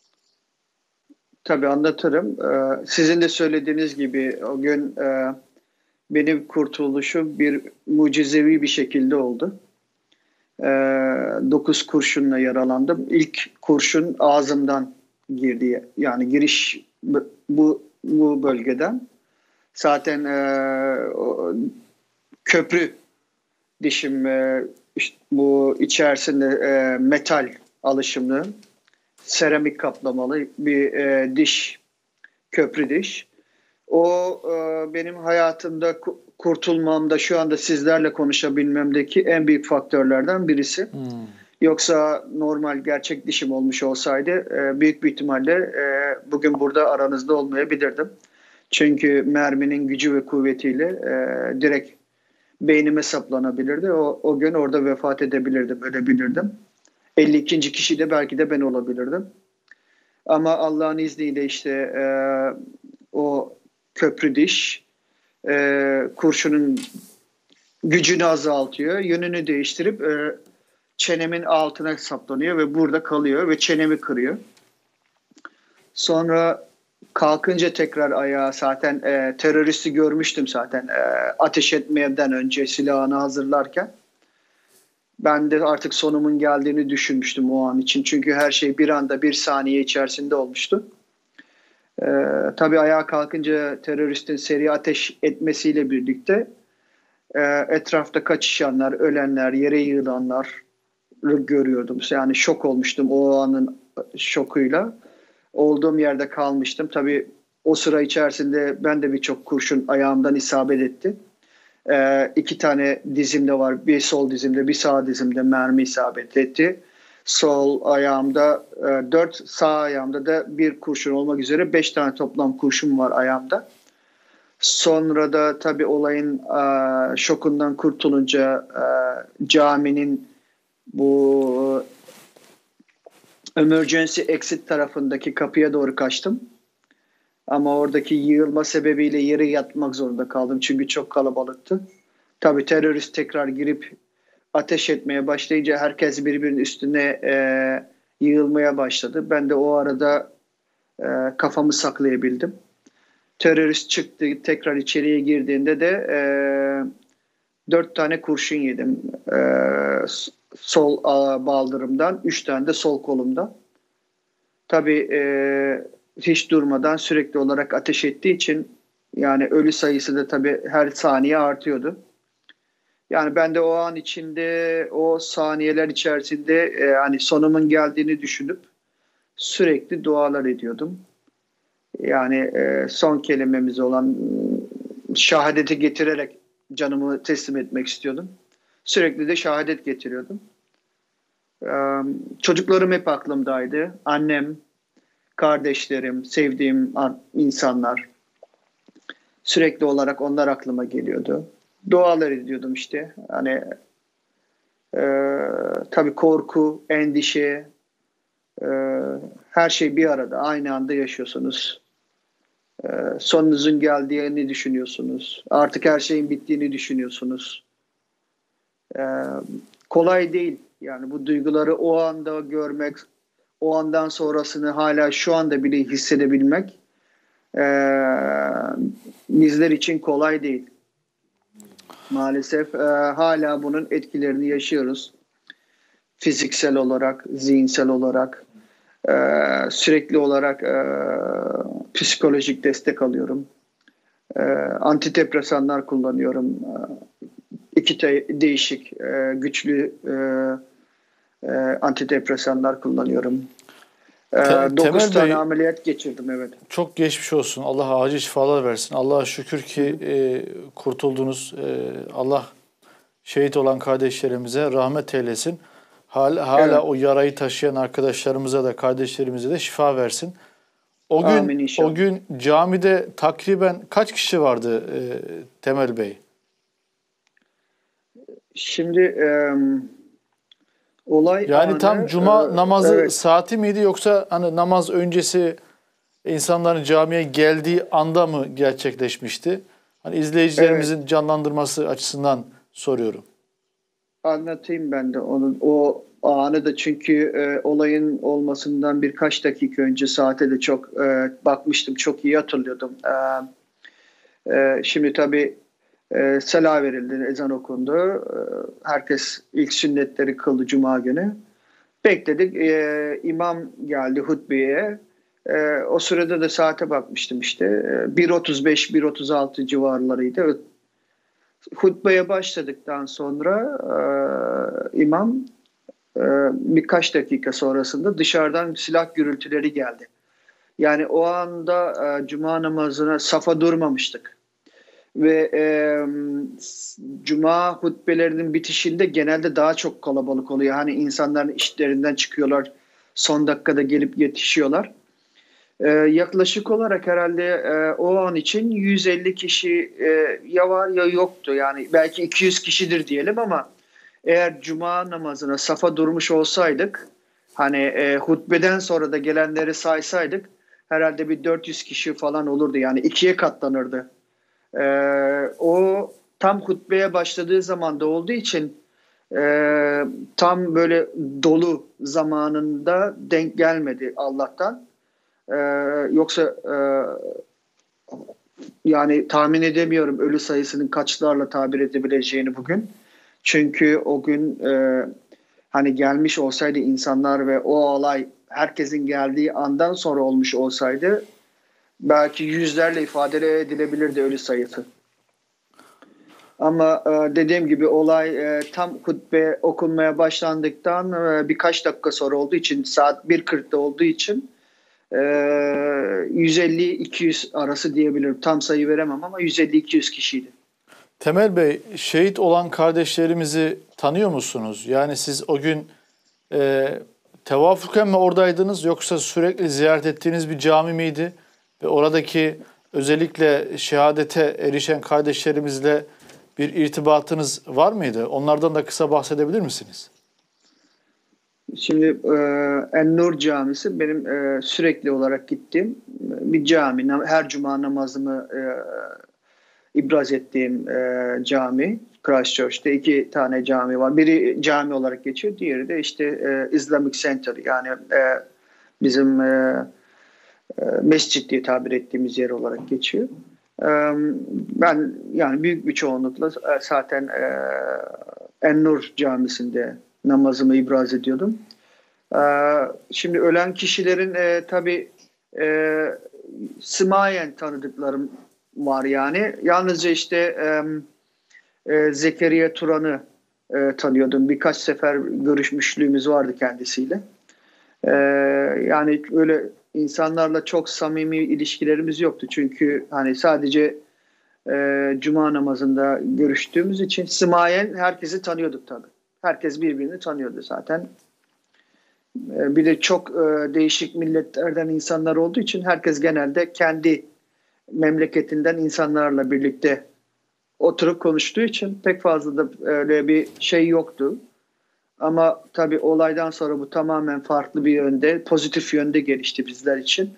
Tabii anlatırım. Ee, sizin de söylediğiniz gibi o gün e, benim kurtuluşum bir mucizevi bir şekilde oldu. Ee, dokuz kurşunla yaralandım. İlk kurşun ağzımdan girdi. Yani giriş bu bu bölgeden. Zaten e, o, köprü dişim e, işte bu içerisinde e, metal alışımlı, seramik kaplamalı bir e, diş, köprü diş. O e, benim hayatımda kurtulmamda, şu anda sizlerle konuşabilmemdeki en büyük faktörlerden birisi. Hmm. Yoksa normal gerçek dişim olmuş olsaydı e, büyük bir ihtimalle e, bugün burada aranızda olmayabilirdim. Çünkü merminin gücü ve kuvvetiyle e, direkt beynime saplanabilirdi. O, o gün orada vefat edebilirdim, ölebilirdim. elli ikinci kişi de belki de ben olabilirdim. Ama Allah'ın izniyle işte e, o köprü diş e, kurşunun gücünü azaltıyor. Yönünü değiştirip e, çenemin altına saplanıyor ve burada kalıyor ve çenemi kırıyor. Sonra kalkınca tekrar ayağa zaten e, teröristi görmüştüm zaten e, ateş etmeden önce silahını hazırlarken. Ben de artık sonumun geldiğini düşünmüştüm o an için. Çünkü her şey bir anda bir saniye içerisinde olmuştu. E, tabii ayağa kalkınca teröristin seri ateş etmesiyle birlikte e, etrafta kaçışanlar, ölenler, yere yığılanlar görüyordum. Yani şok olmuştum o anın şokuyla. Olduğum yerde kalmıştım. Tabii o sıra içerisinde ben de birçok kurşun ayağımdan isabet etti. Ee, iki tane dizimde var. Bir sol dizimde, bir sağ dizimde mermi isabet etti. Sol ayağımda e, dört, sağ ayağımda da bir kurşun olmak üzere beş tane toplam kurşun var ayağımda. Sonra da tabii olayın e, şokundan kurtulunca e, caminin bu emergency exit tarafındaki kapıya doğru kaçtım. Ama oradaki yığılma sebebiyle yere yatmak zorunda kaldım. Çünkü çok kalabalıktı. Tabii terörist tekrar girip ateş etmeye başlayınca herkes birbirinin üstüne e, yığılmaya başladı. Ben de o arada e, kafamı saklayabildim. Terörist çıktı, tekrar içeriye girdiğinde de e, dört tane kurşun yedim. E, sol a, baldırımdan, üç tane de sol kolumdan. Tabii e, hiç durmadan sürekli olarak ateş ettiği için yani ölü sayısı da tabii her saniye artıyordu. Yani ben de o an içinde, o saniyeler içerisinde e, hani sonumun geldiğini düşünüp sürekli dualar ediyordum. Yani e, son kelimemiz olan şahadeti getirerek canımı teslim etmek istiyordum. Sürekli de şehadet getiriyordum. Ee, çocuklarım hep aklımdaydı. Annem, kardeşlerim, sevdiğim insanlar. Sürekli olarak onlar aklıma geliyordu. Dualar ediyordum işte. Hani e, tabii korku, endişe, e, her şey bir arada, aynı anda yaşıyorsunuz. Ee, sonunuzun geldiğini düşünüyorsunuz. Artık her şeyin bittiğini düşünüyorsunuz. Ee, kolay değil. Yani bu duyguları o anda görmek, o andan sonrasını hala şu anda bile hissedebilmek ee, bizler için kolay değil. Maalesef e, hala bunun etkilerini yaşıyoruz. Fiziksel olarak, zihinsel olarak, e, sürekli olarak e, psikolojik destek alıyorum. E, antidepresanlar kullanıyorum. E, iki te- değişik, e, güçlü e, e, antidepresanlar kullanıyorum. E, Te- dokuz Temel tane Bey, ameliyat geçirdim, evet. çok geçmiş olsun. Allah acil şifalar versin. Allah'a şükür ki e, kurtuldunuz. E, Allah şehit olan kardeşlerimize rahmet eylesin. Hala, hala Evet. o yarayı taşıyan arkadaşlarımıza da kardeşlerimize de şifa versin. O gün Amin inşallah. o gün camide takriben kaç kişi vardı e, Temel Bey? Şimdi e, olay Yani anı, tam cuma e, namazı evet. saati miydi, yoksa hani namaz öncesi insanların camiye geldiği anda mı gerçekleşmişti? Hani izleyicilerimizin canlandırması açısından soruyorum. Anlatayım ben de onun o anı da, çünkü e, olayın olmasından birkaç dakika önce saate de çok e, bakmıştım, çok iyi hatırlıyordum. E, e, şimdi tabii e, sela verildi, ezan okundu. E, herkes ilk sünnetleri kıldı Cuma günü. Bekledik. E, imam geldi hutbeye. E, o sırada da saate bakmıştım işte. E, bir otuz beş bir otuz altı civarlarıydı. Hutbeye başladıktan sonra e, imam e, birkaç dakika sonrasında dışarıdan silah gürültüleri geldi. Yani o anda e, cuma namazına safa durmamıştık. Ve e, cuma hutbelerinin bitişinde genelde daha çok kalabalık oluyor. Hani insanların işlerinden çıkıyorlar, son dakikada gelip yetişiyorlar. Ee, yaklaşık olarak herhalde e, o an için yüz elli kişi e, ya var ya yoktu. Yani belki iki yüz kişidir diyelim, ama eğer cuma namazına safa durmuş olsaydık, hani e, hutbeden sonra da gelenleri saysaydık, herhalde bir dört yüz kişi falan olurdu. Yani ikiye katlanırdı. E, o tam hutbeye başladığı zamanda olduğu için e, tam böyle dolu zamanında denk gelmedi Allah'tan. Ee, yoksa e, yani tahmin edemiyorum ölü sayısının kaçlarla tabir edebileceğini bugün. Çünkü o gün e, hani gelmiş olsaydı insanlar ve o olay herkesin geldiği andan sonra olmuş olsaydı, belki yüzlerle ifade edilebilirdi ölü sayısı. Ama e, dediğim gibi olay e, tam hutbe okunmaya başlandıktan e, birkaç dakika sonra olduğu için, saat bir kırkta olduğu için yüz elli iki yüz arası diyebilirim. Tam sayı veremem ama yüz elli iki yüz kişiydi. Temel Bey, şehit olan kardeşlerimizi tanıyor musunuz? Yani siz o gün e, tevafuken mi oradaydınız, yoksa sürekli ziyaret ettiğiniz bir cami miydi? Ve oradaki özellikle şehadete erişen kardeşlerimizle bir irtibatınız var mıydı? Onlardan da kısa bahsedebilir misiniz? Şimdi e, En-Nur Camisi benim e, sürekli olarak gittiğim bir cami. Her cuma namazımı e, ibraz ettiğim e, cami. Christchurch'te iki tane cami var. Biri cami olarak geçiyor, diğeri de işte e, Islamic Center, yani e, bizim e, e, mescit diye tabir ettiğimiz yer olarak geçiyor. E, ben yani büyük bir çoğunlukla e, zaten e, En-Nur Camisi'nde namazımı ibraz ediyordum. Ee, şimdi ölen kişilerin e, tabii e, semayen tanıdıklarım var yani. Yalnızca işte e, e, Zekeriya Turan'ı e, tanıyordum. Birkaç sefer görüşmüşlüğümüz vardı kendisiyle. E, yani öyle insanlarla çok samimi ilişkilerimiz yoktu. Çünkü hani sadece e, cuma namazında görüştüğümüz için semayen herkesi tanıyorduk tabii. Herkes birbirini tanıyordu zaten. Bir de çok e, değişik milletlerden insanlar olduğu için herkes genelde kendi memleketinden insanlarla birlikte oturup konuştuğu için pek fazla da öyle bir şey yoktu. Ama tabii olaydan sonra bu tamamen farklı bir yönde, pozitif yönde gelişti bizler için.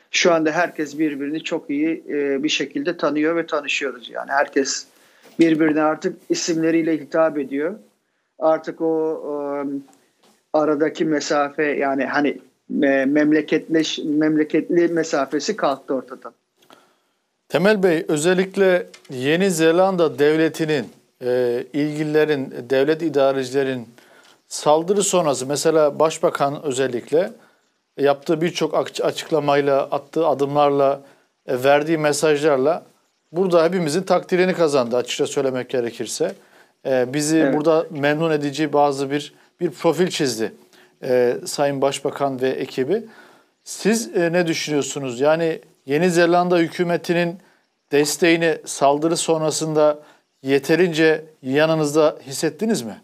Şu anda herkes birbirini çok iyi e, bir şekilde tanıyor ve tanışıyoruz. Yani herkes birbirine artık isimleriyle hitap ediyor. Artık o e, aradaki mesafe, yani hani e, memleketleş memleketli mesafesi kalktı ortadan. Temel Bey, özellikle Yeni Zelanda devletinin, e, ilgililerin, devlet idarecilerin saldırı sonrası, mesela Başbakan özellikle yaptığı birçok açıklamayla, attığı adımlarla, e, verdiği mesajlarla burada hepimizin takdirini kazandı, açıkça söylemek gerekirse. E, bizi Evet. burada memnun edici bazı bir bir profil çizdi e, Sayın Başbakan ve ekibi. Siz e, ne düşünüyorsunuz? Yani Yeni Zelanda hükümetinin desteğini saldırı sonrasında yeterince yanınızda hissettiniz mi?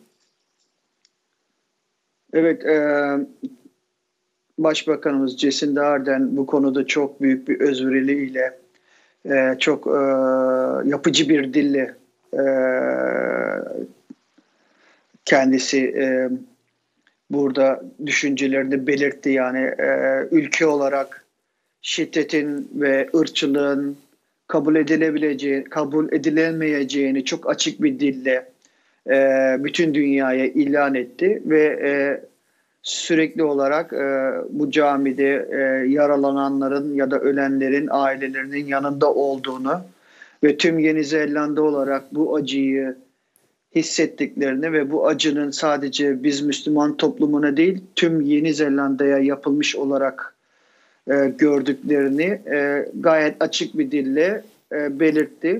Evet, e, Başbakanımız Jacinda Ardern bu konuda çok büyük bir özveriliyle, e, çok e, yapıcı bir dille e, kendisi e, burada düşüncelerini belirtti. Yani e, ülke olarak şiddetin ve ırkçılığın kabul edilebileceği, kabul edilemeyeceğini çok açık bir dille e, bütün dünyaya ilan etti ve e, sürekli olarak e, bu camide e, yaralananların ya da ölenlerin ailelerinin yanında olduğunu ve tüm Yeni Zelanda olarak bu acıyı hissettiklerini ve bu acının sadece biz Müslüman toplumuna değil tüm Yeni Zelanda'ya yapılmış olarak e, gördüklerini e, gayet açık bir dille e, belirtti.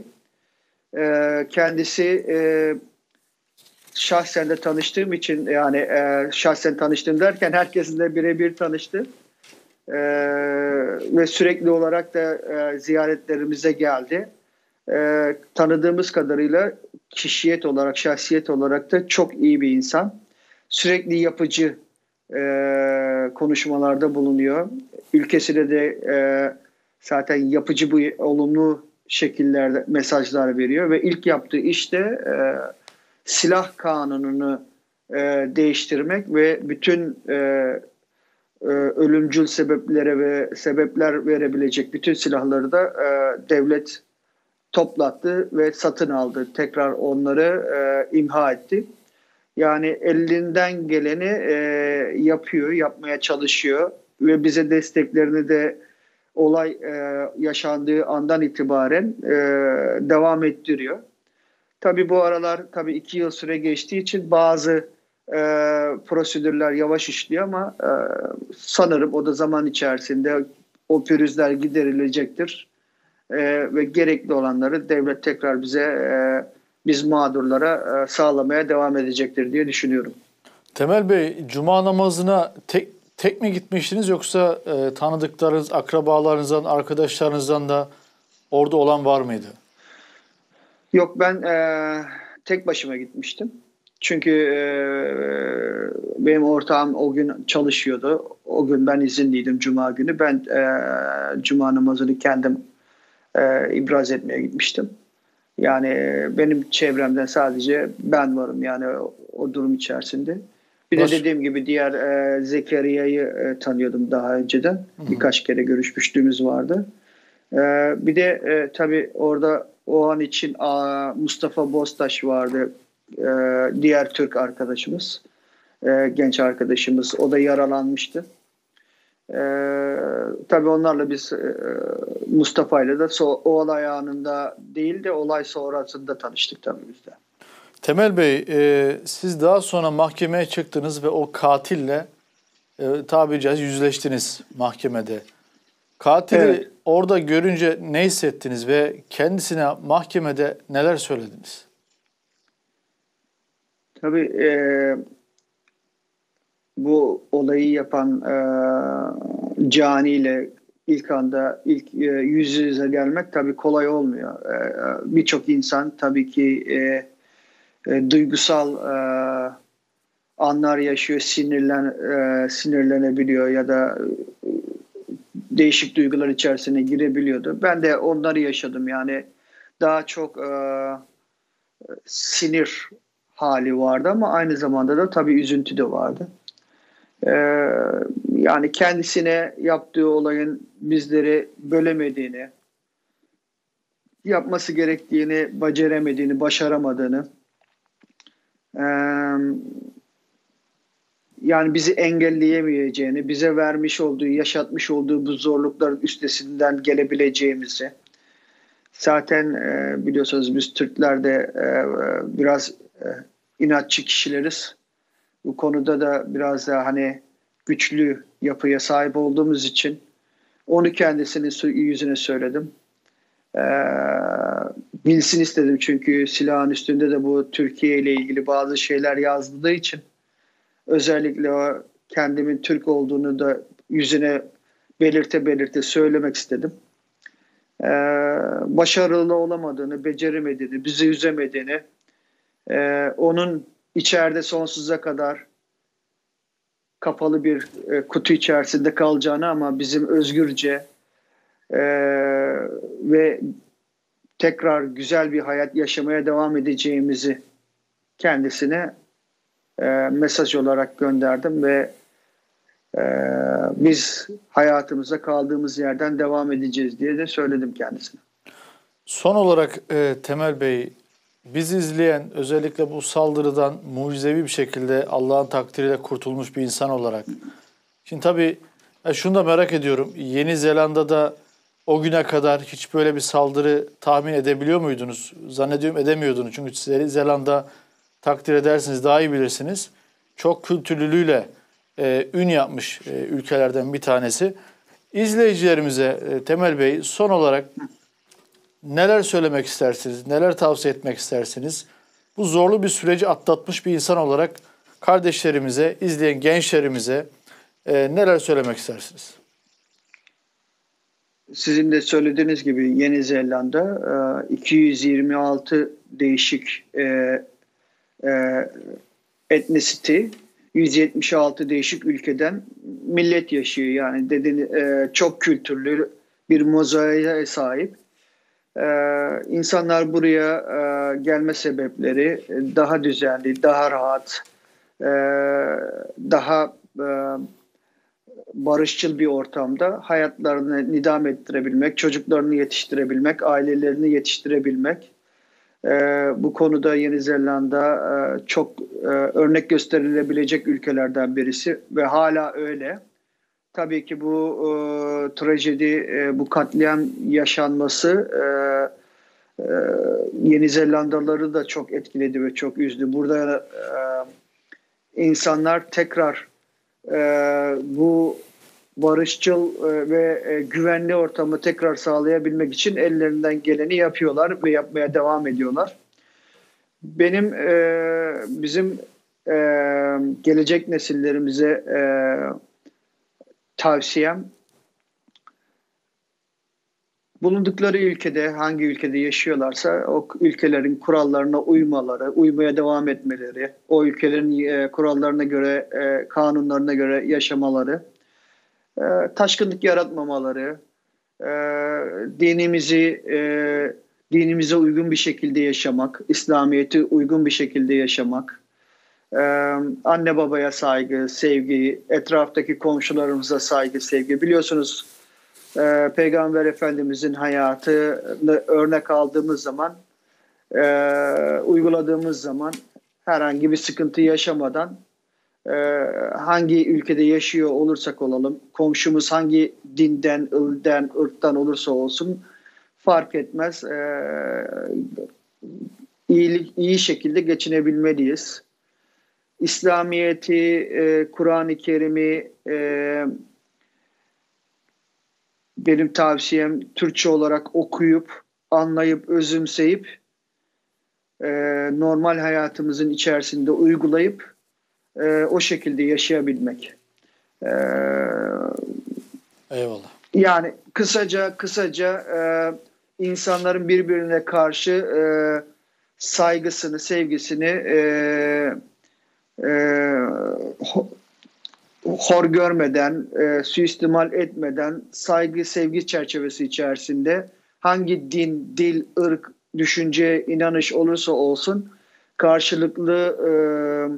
E, kendisi e, şahsen de tanıştığım için, yani e, şahsen tanıştım derken herkesinle birebir tanıştı. E, ve sürekli olarak da e, ziyaretlerimize geldi. E, tanıdığımız kadarıyla kişiyet olarak, şahsiyet olarak da çok iyi bir insan. Sürekli yapıcı e, konuşmalarda bulunuyor. Ülkesine de e, zaten yapıcı, bu olumlu şekillerde mesajlar veriyor ve ilk yaptığı iş de e, silah kanununu e, değiştirmek ve bütün e, e, ölümcül sebeplere ve sebepler verebilecek bütün silahları da e, devlet toplattı ve satın aldı. Tekrar onları e, imha etti. Yani elinden geleni e, yapıyor, yapmaya çalışıyor ve bize desteklerini de olay e, yaşandığı andan itibaren e, devam ettiriyor. Tabii bu aralar tabii iki yıl süre geçtiği için bazı e, prosedürler yavaş işliyor ama e, sanırım o da zaman içerisinde o pürüzler giderilecektir. E, ve gerekli olanları devlet tekrar bize, e, biz mağdurlara e, sağlamaya devam edecektir diye düşünüyorum. Temel Bey, Cuma namazına tek, tek mi gitmiştiniz, yoksa e, tanıdıklarınız, akrabalarınızdan, arkadaşlarınızdan da orada olan var mıydı? Yok, ben e, tek başıma gitmiştim. Çünkü e, benim ortağım o gün çalışıyordu. O gün ben izinliydim, Cuma günü. Ben e, Cuma namazını kendim e, ibraz etmeye gitmiştim. Yani e, benim çevremden sadece ben varım yani o, o durum içerisinde. Bir Baş... de dediğim gibi diğer e, Zekeriya'yı e, tanıyordum daha önceden. Hı-hı. Birkaç kere görüşmüşlüğümüz vardı. E, bir de e, tabii orada o an için a, Mustafa Bostaş vardı. E, diğer Türk arkadaşımız. E, genç arkadaşımız. O da yaralanmıştı. E, tabii onlarla biz e, Mustafa ile de so, o olay anında değil de olay sonrasında tanıştık tabii biz de. Temel Bey, e, siz daha sonra mahkemeye çıktınız ve o katille e, tabiri caizse yüzleştiniz mahkemede. Katili evet. Orada görünce ne hissettiniz ve kendisine mahkemede neler söylediniz? Tabii e, bu olayı yapan e, caniyle ilk anda ilk e, yüz yüze gelmek tabii kolay olmuyor. E, Birçok insan tabii ki e, e, duygusal e, anlar yaşıyor, sinirlen e, sinirlenebiliyor ya da e, değişik duygular içerisine girebiliyordu. Ben de onları yaşadım. Yani daha çok e, sinir hali vardı ama aynı zamanda da tabii üzüntü de vardı. Ee, yani kendisine yaptığı olayın bizleri bölemediğini, yapması gerektiğini beceremediğini, başaramadığını, ee, yani bizi engelleyemeyeceğini, bize vermiş olduğu, yaşatmış olduğu bu zorlukların üstesinden gelebileceğimizi. Zaten e, biliyorsunuz biz Türkler de e, biraz e, inatçı kişileriz. Bu konuda da biraz daha hani güçlü yapıya sahip olduğumuz için onu kendisinin yüzüne söyledim. Ee, bilsin istedim çünkü silahın üstünde de bu Türkiye ile ilgili bazı şeyler yazdığı için özellikle o kendimin Türk olduğunu da yüzüne belirte belirte söylemek istedim. Ee, başarılı olamadığını, beceremediğini, bizi üzemediğini, e, onun içeride sonsuza kadar kapalı bir e, kutu içerisinde kalacağını ama bizim özgürce e, ve tekrar güzel bir hayat yaşamaya devam edeceğimizi kendisine e, mesaj olarak gönderdim ve e, biz hayatımıza kaldığımız yerden devam edeceğiz diye de söyledim kendisine. Son olarak e, Temel Bey, bizi izleyen özellikle bu saldırıdan mucizevi bir şekilde Allah'ın takdiriyle kurtulmuş bir insan olarak. Şimdi tabii e, şunu da merak ediyorum. Yeni Zelanda'da o güne kadar hiç böyle bir saldırı tahmin edebiliyor muydunuz? Zannediyorum edemiyordunuz. Çünkü Yeni Zelanda takdir edersiniz, daha iyi bilirsiniz. Çok kültürlülüğüyle e, ün yapmış e, ülkelerden bir tanesi. İzleyicilerimize e, Temel Bey son olarak neler söylemek istersiniz? Neler tavsiye etmek istersiniz? Bu zorlu bir süreci atlatmış bir insan olarak kardeşlerimize, izleyen gençlerimize e, neler söylemek istersiniz? Sizin de söylediğiniz gibi Yeni Zelanda iki yüz yirmi altı değişik e, e, etnisity, yüz yetmiş altı değişik ülkeden millet yaşıyor. Yani dediğiniz, e, çok kültürlü bir mozaiğe sahip. Ee, insanlar buraya e, gelme sebepleri daha düzenli, daha rahat, e, daha e, barışçıl bir ortamda hayatlarını nidam ettirebilmek, çocuklarını yetiştirebilmek, ailelerini yetiştirebilmek. E, bu konuda Yeni Zelanda e, çok e, örnek gösterilebilecek ülkelerden birisi ve hala öyle. Tabii ki bu e, trajedi, e, bu katliam yaşanması e, e, Yeni Zelandalıları da çok etkiledi ve çok üzdü. Burada e, insanlar tekrar e, bu barışçıl e, ve e, güvenli ortamı tekrar sağlayabilmek için ellerinden geleni yapıyorlar ve yapmaya devam ediyorlar. Benim e, bizim e, gelecek nesillerimize e, tavsiyem, bulundukları ülkede, hangi ülkede yaşıyorlarsa o ülkelerin kurallarına uymaları, uymaya devam etmeleri, o ülkelerin e, kurallarına göre, e, kanunlarına göre yaşamaları, e, taşkınlık yaratmamaları, e, dinimizi e, dinimize uygun bir şekilde yaşamak, İslamiyet'e uygun bir şekilde yaşamak, Ee, anne babaya saygı, sevgi, etraftaki komşularımıza saygı, sevgi. Biliyorsunuz e, Peygamber Efendimizin hayatını örnek aldığımız zaman, e, uyguladığımız zaman herhangi bir sıkıntı yaşamadan e, hangi ülkede yaşıyor olursak olalım, komşumuz hangi dinden, ılden, ırktan olursa olsun fark etmez. E, iyi, iyi şekilde geçinebilmeliyiz. İslamiyet'i, e, Kur'an-ı Kerim'i e, benim tavsiyem Türkçe olarak okuyup, anlayıp, özümseyip e, normal hayatımızın içerisinde uygulayıp e, o şekilde yaşayabilmek. E, Eyvallah. Yani kısaca kısaca e, insanların birbirine karşı e, saygısını, sevgisini e, e, hor görmeden, e, suistimal etmeden, saygı, sevgi çerçevesi içerisinde hangi din, dil, ırk, düşünce, inanış olursa olsun karşılıklı e,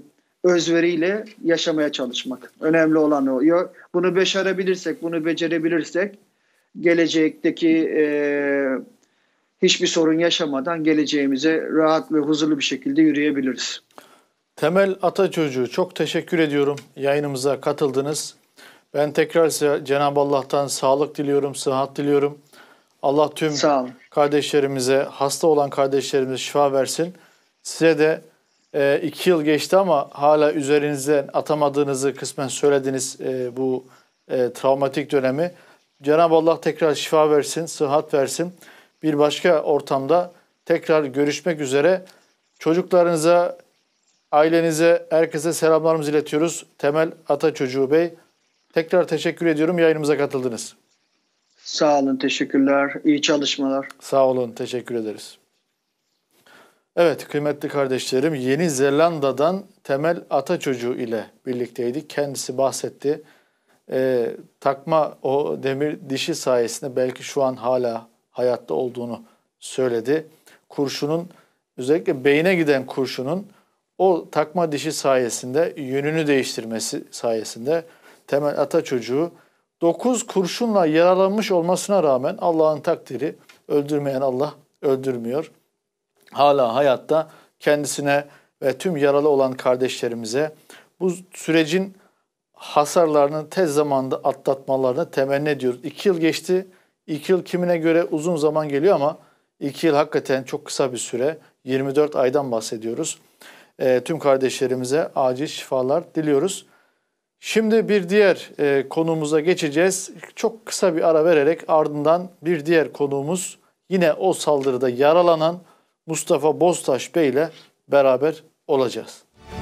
özveriyle yaşamaya çalışmak. Önemli olan o. Bunu başarabilirsek, bunu becerebilirsek gelecekteki e, hiçbir sorun yaşamadan geleceğimize rahat ve huzurlu bir şekilde yürüyebiliriz. Temel Ataçocuğu, çok teşekkür ediyorum. Yayınımıza katıldınız. Ben tekrar size Cenab-ı Allah'tan sağlık diliyorum, sıhhat diliyorum. Allah tüm kardeşlerimize, hasta olan kardeşlerimize şifa versin. Size de e, iki yıl geçti ama hala üzerinizden atamadığınızı kısmen söylediniz e, bu e, travmatik dönemi. Cenab-ı Allah tekrar şifa versin, sıhhat versin. Bir başka ortamda tekrar görüşmek üzere. Çocuklarınıza, ailenize, herkese selamlarımızı iletiyoruz. Temel Ataçocuğu Bey, tekrar teşekkür ediyorum. Yayınımıza katıldınız. Sağ olun, teşekkürler. İyi çalışmalar. Sağ olun, teşekkür ederiz. Evet, kıymetli kardeşlerim, Yeni Zelanda'dan Temel Ataçocuğu ile birlikteydik. Kendisi bahsetti. Ee, takma o demir dişi sayesinde belki şu an hala hayatta olduğunu söyledi. Kurşunun, özellikle beyne giden kurşunun o takma dişi sayesinde, yönünü değiştirmesi sayesinde Temel Ataçocuğu dokuz kurşunla yaralanmış olmasına rağmen Allah'ın takdiri, öldürmeyen Allah öldürmüyor. Hala hayatta, kendisine ve tüm yaralı olan kardeşlerimize bu sürecin hasarlarını tez zamanda atlatmalarını temenni ediyoruz. İki yıl geçti. İki yıl kimine göre uzun zaman geliyor ama iki yıl hakikaten çok kısa bir süre. yirmi dört aydan bahsediyoruz. E, tüm kardeşlerimize acil şifalar diliyoruz. Şimdi bir diğer e, konuğumuza geçeceğiz. Çok kısa bir ara vererek ardından bir diğer konuğumuz yine o saldırıda yaralanan Mustafa Boztaş Bey ile beraber olacağız.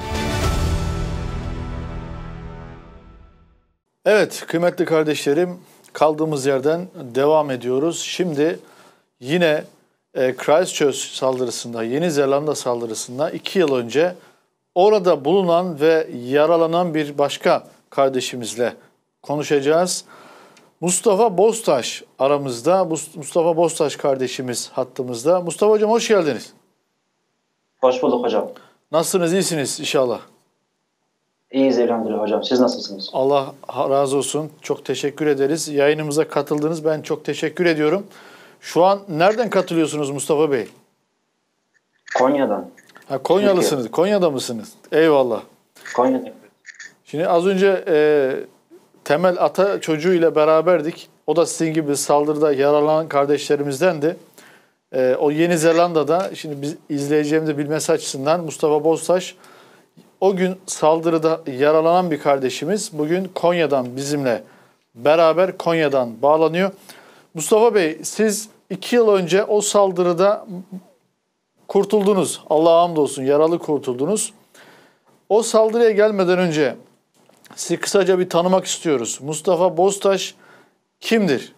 Evet kıymetli kardeşlerim, kaldığımız yerden devam ediyoruz. Şimdi yine e, Christchurch saldırısında, Yeni Zelanda saldırısında iki yıl önce orada bulunan ve yaralanan bir başka kardeşimizle konuşacağız. Mustafa Boztaş aramızda. Mustafa Boztaş kardeşimiz hattımızda. Mustafa Hocam hoş geldiniz. Hoş bulduk hocam. Nasılsınız? İyisiniz inşallah. İyiyiz elhamdülillah hocam. Siz nasılsınız? Allah razı olsun. Çok teşekkür ederiz. Yayınımıza katıldınız. Ben çok teşekkür ediyorum. Şu an nereden katılıyorsunuz Mustafa Bey? Konya'dan. Ha, Konyalısınız. Türkiye. Konya'da mısınız? Eyvallah. Konya'da. Şimdi az önce e, Temel Ataçocuğu ile beraberdik. O da sizin gibi saldırıda yaralanan kardeşlerimizdendi. E, o Yeni Zelanda'da, şimdi biz izleyeceğimizi bilmesi açısından Mustafa Boztaş, o gün saldırıda yaralanan bir kardeşimiz. Bugün Konya'dan bizimle beraber Konya'dan bağlanıyor. Mustafa Bey, siz iki yıl önce o saldırıda kurtuldunuz. Allah'a hamdolsun, yaralı kurtuldunuz. O saldırıya gelmeden önce sizi kısaca bir tanımak istiyoruz. Mustafa Boztaş kimdir?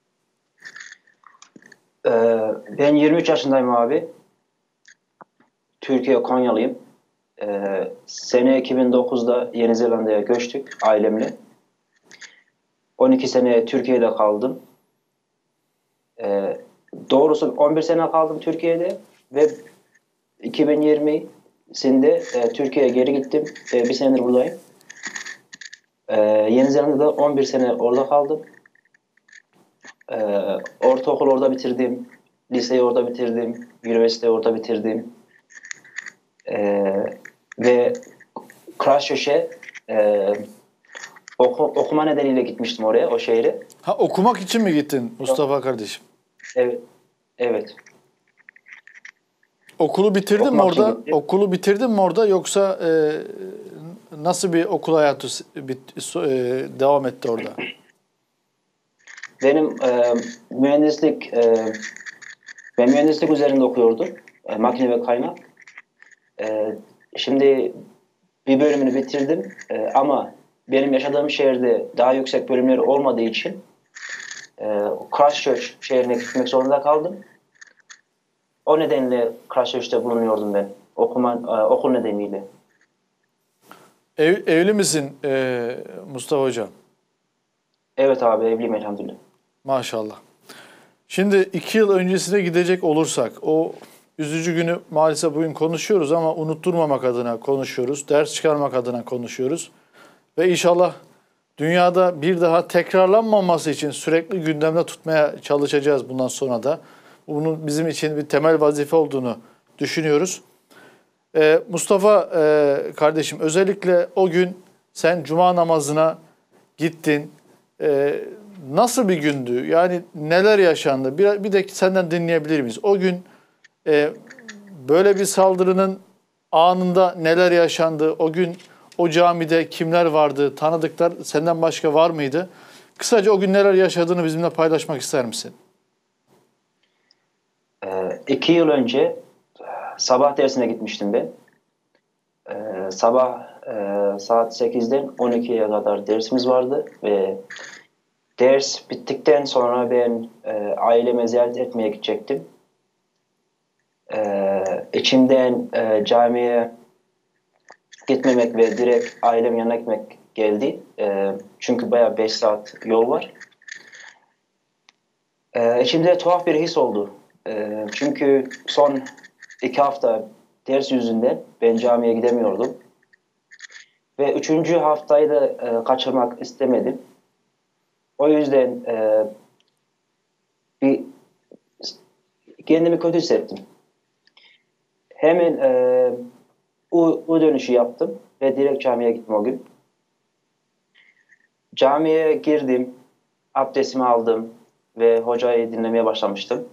Ee, ben yirmi üç yaşındayım abi. Türkiye Konyalıyım. Ee, sene iki bin dokuzda Yeni Zelanda'ya göçtük ailemle. on iki sene Türkiye'de kaldım. Ee, doğrusu on bir sene kaldım Türkiye'de ve iki bin yirmisinde e, Türkiye'ye geri gittim. E, bir senedir buradayım. E, Yeni Zelanda'da on bir sene orada kaldım. E, ortaokul orada bitirdim. Liseyi orada bitirdim. Üniversiteyi orada bitirdim. E, ve Christchurch'e e, oku, okuma nedeniyle gitmiştim oraya, o şehre. Ha, okumak için mi gittin Mustafa Yok. kardeşim? Evet. Evet. Okulu bitirdin mi orada? Okulu bitirdin mi orada yoksa e, nasıl bir okul hayatı bit, e, devam etti orada? Benim e, mühendislik e, ben mühendislik üzerinde okuyordum. E, makine ve kaynak. E, şimdi bir bölümünü bitirdim e, ama benim yaşadığım şehirde daha yüksek bölümleri olmadığı için e, Christchurch şehrine gitmek zorunda kaldım. O nedenle Christchurch'te bulunuyordum ben. Okuma, e, okul nedeniyle. Ev, evli misin e, Mustafa Hocam? Evet abi, evliyim elhamdülillah. Maşallah. Şimdi iki yıl öncesine gidecek olursak, o üzücü günü maalesef bugün konuşuyoruz ama unutturmamak adına konuşuyoruz. Ders çıkarmak adına konuşuyoruz. Ve inşallah dünyada bir daha tekrarlanmaması için sürekli gündemde tutmaya çalışacağız bundan sonra da. Bunun bizim için bir temel vazife olduğunu düşünüyoruz. Ee, Mustafa e, kardeşim, özellikle o gün sen cuma namazına gittin. Ee, nasıl bir gündü? Yani neler yaşandı? Bir, bir de senden dinleyebilir miyiz? O gün e, böyle bir saldırının anında neler yaşandı? O gün o camide kimler vardı? Tanıdıklar senden başka var mıydı? Kısaca o gün neler yaşadığını bizimle paylaşmak ister misin? Ee, iki yıl önce sabah dersine gitmiştim ben. Ee, sabah e, saat sekizden on ikiye kadar dersimiz vardı ve ders bittikten sonra ben e, aileme ziyaret etmeye gidecektim. Ee, içimden e, camiye gitmemek ve direkt ailemin yanına gitmek geldi. E, çünkü bayağı beş saat yol var. E, içimde tuhaf bir his oldu. E, çünkü son iki hafta ders yüzünden ben camiye gidemiyordum. Ve üçüncü haftayı da e, kaçırmak istemedim. O yüzden e, bir kendimi kötü hissettim. Hemen e, U, U dönüşü yaptım ve direkt camiye gittim o gün. Camiye girdim, abdestimi aldım ve hocayı dinlemeye başlamıştım.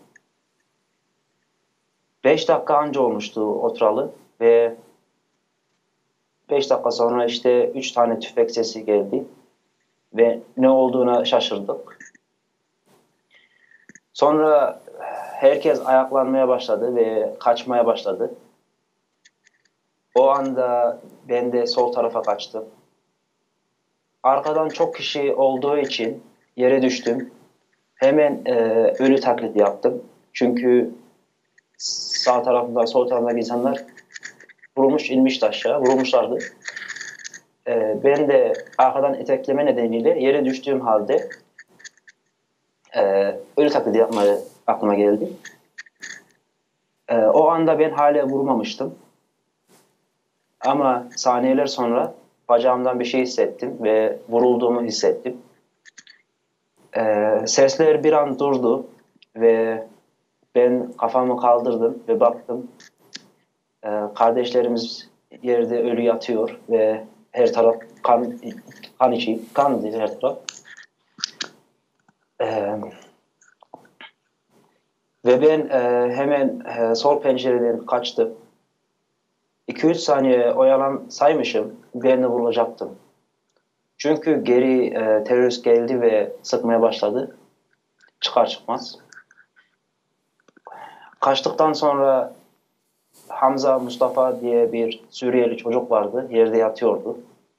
Beş dakika anca olmuştu oturalı ve beş dakika sonra işte üç tane tüfek sesi geldi ve ne olduğuna şaşırdık. Sonra herkes ayaklanmaya başladı ve kaçmaya başladı. O anda ben de sol tarafa kaçtım. Arkadan çok kişi olduğu için yere düştüm. Hemen e, ölü taklidi yaptım. Çünkü sağ tarafında, sol tarafındaki insanlar vurulmuş, inmişti aşağı, vurulmuşlardı. E, ben de arkadan etekleme nedeniyle yere düştüğüm halde e, ölü taklidi yapmaya aklıma geldi. E, o anda ben hala vurmamıştım. Ama saniyeler sonra bacağımdan bir şey hissettim ve vurulduğumu hissettim. Ee, sesler bir an durdu ve ben kafamı kaldırdım ve baktım. Ee, kardeşlerimiz yerde ölü yatıyor ve her taraf kan, kan içi, kan diye her taraf. Ee, ve ben e, hemen e, sol pencereden kaçtım. iki üç saniye oyalan saymışım, birine vurulacaktım. Çünkü geri e, terörist geldi ve sıkmaya başladı. Çıkar çıkmaz. Kaçtıktan sonra Hamza Mustafa diye bir Suriyeli çocuk vardı. Yerde yatıyordu.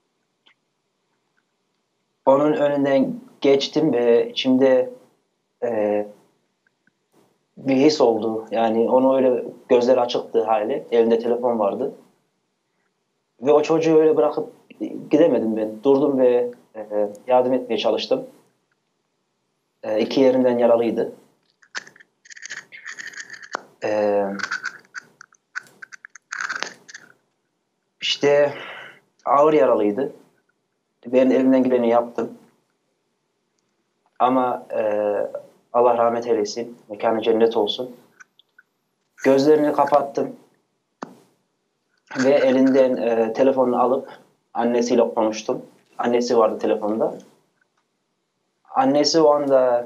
Onun önünden geçtim ve içimde e, bir his oldu. Yani onu öyle gözleri açıktı hali. Elinde telefon vardı. Ve o çocuğu öyle bırakıp gidemedim ben. Durdum ve e, yardım etmeye çalıştım. E, iki yerimden yaralıydı. E, işte ağır yaralıydı. Ben elimden geleni yaptım. Ama e, Allah rahmet eylesin. Mekanı cennet olsun. Gözlerini kapattım. Ve elinden e, telefonunu alıp annesiyle konuştum. Annesi vardı telefonda. Annesi o anda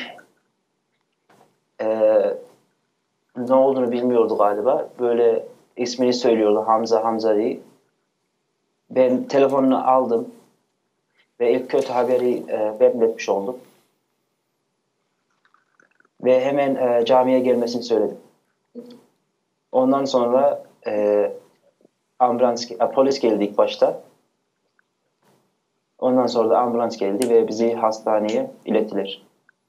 e, ne olduğunu bilmiyordu galiba. Böyle ismini söylüyordu, Hamza Hamza diye. Ben telefonunu aldım ve ilk kötü haberi e, ben iletmiş oldum. Ve hemen e, camiye gelmesini söyledim. Ondan sonra e, ambulans, polis geldi ilk başta. Ondan sonra da ambulans geldi ve bizi hastaneye ilettiler.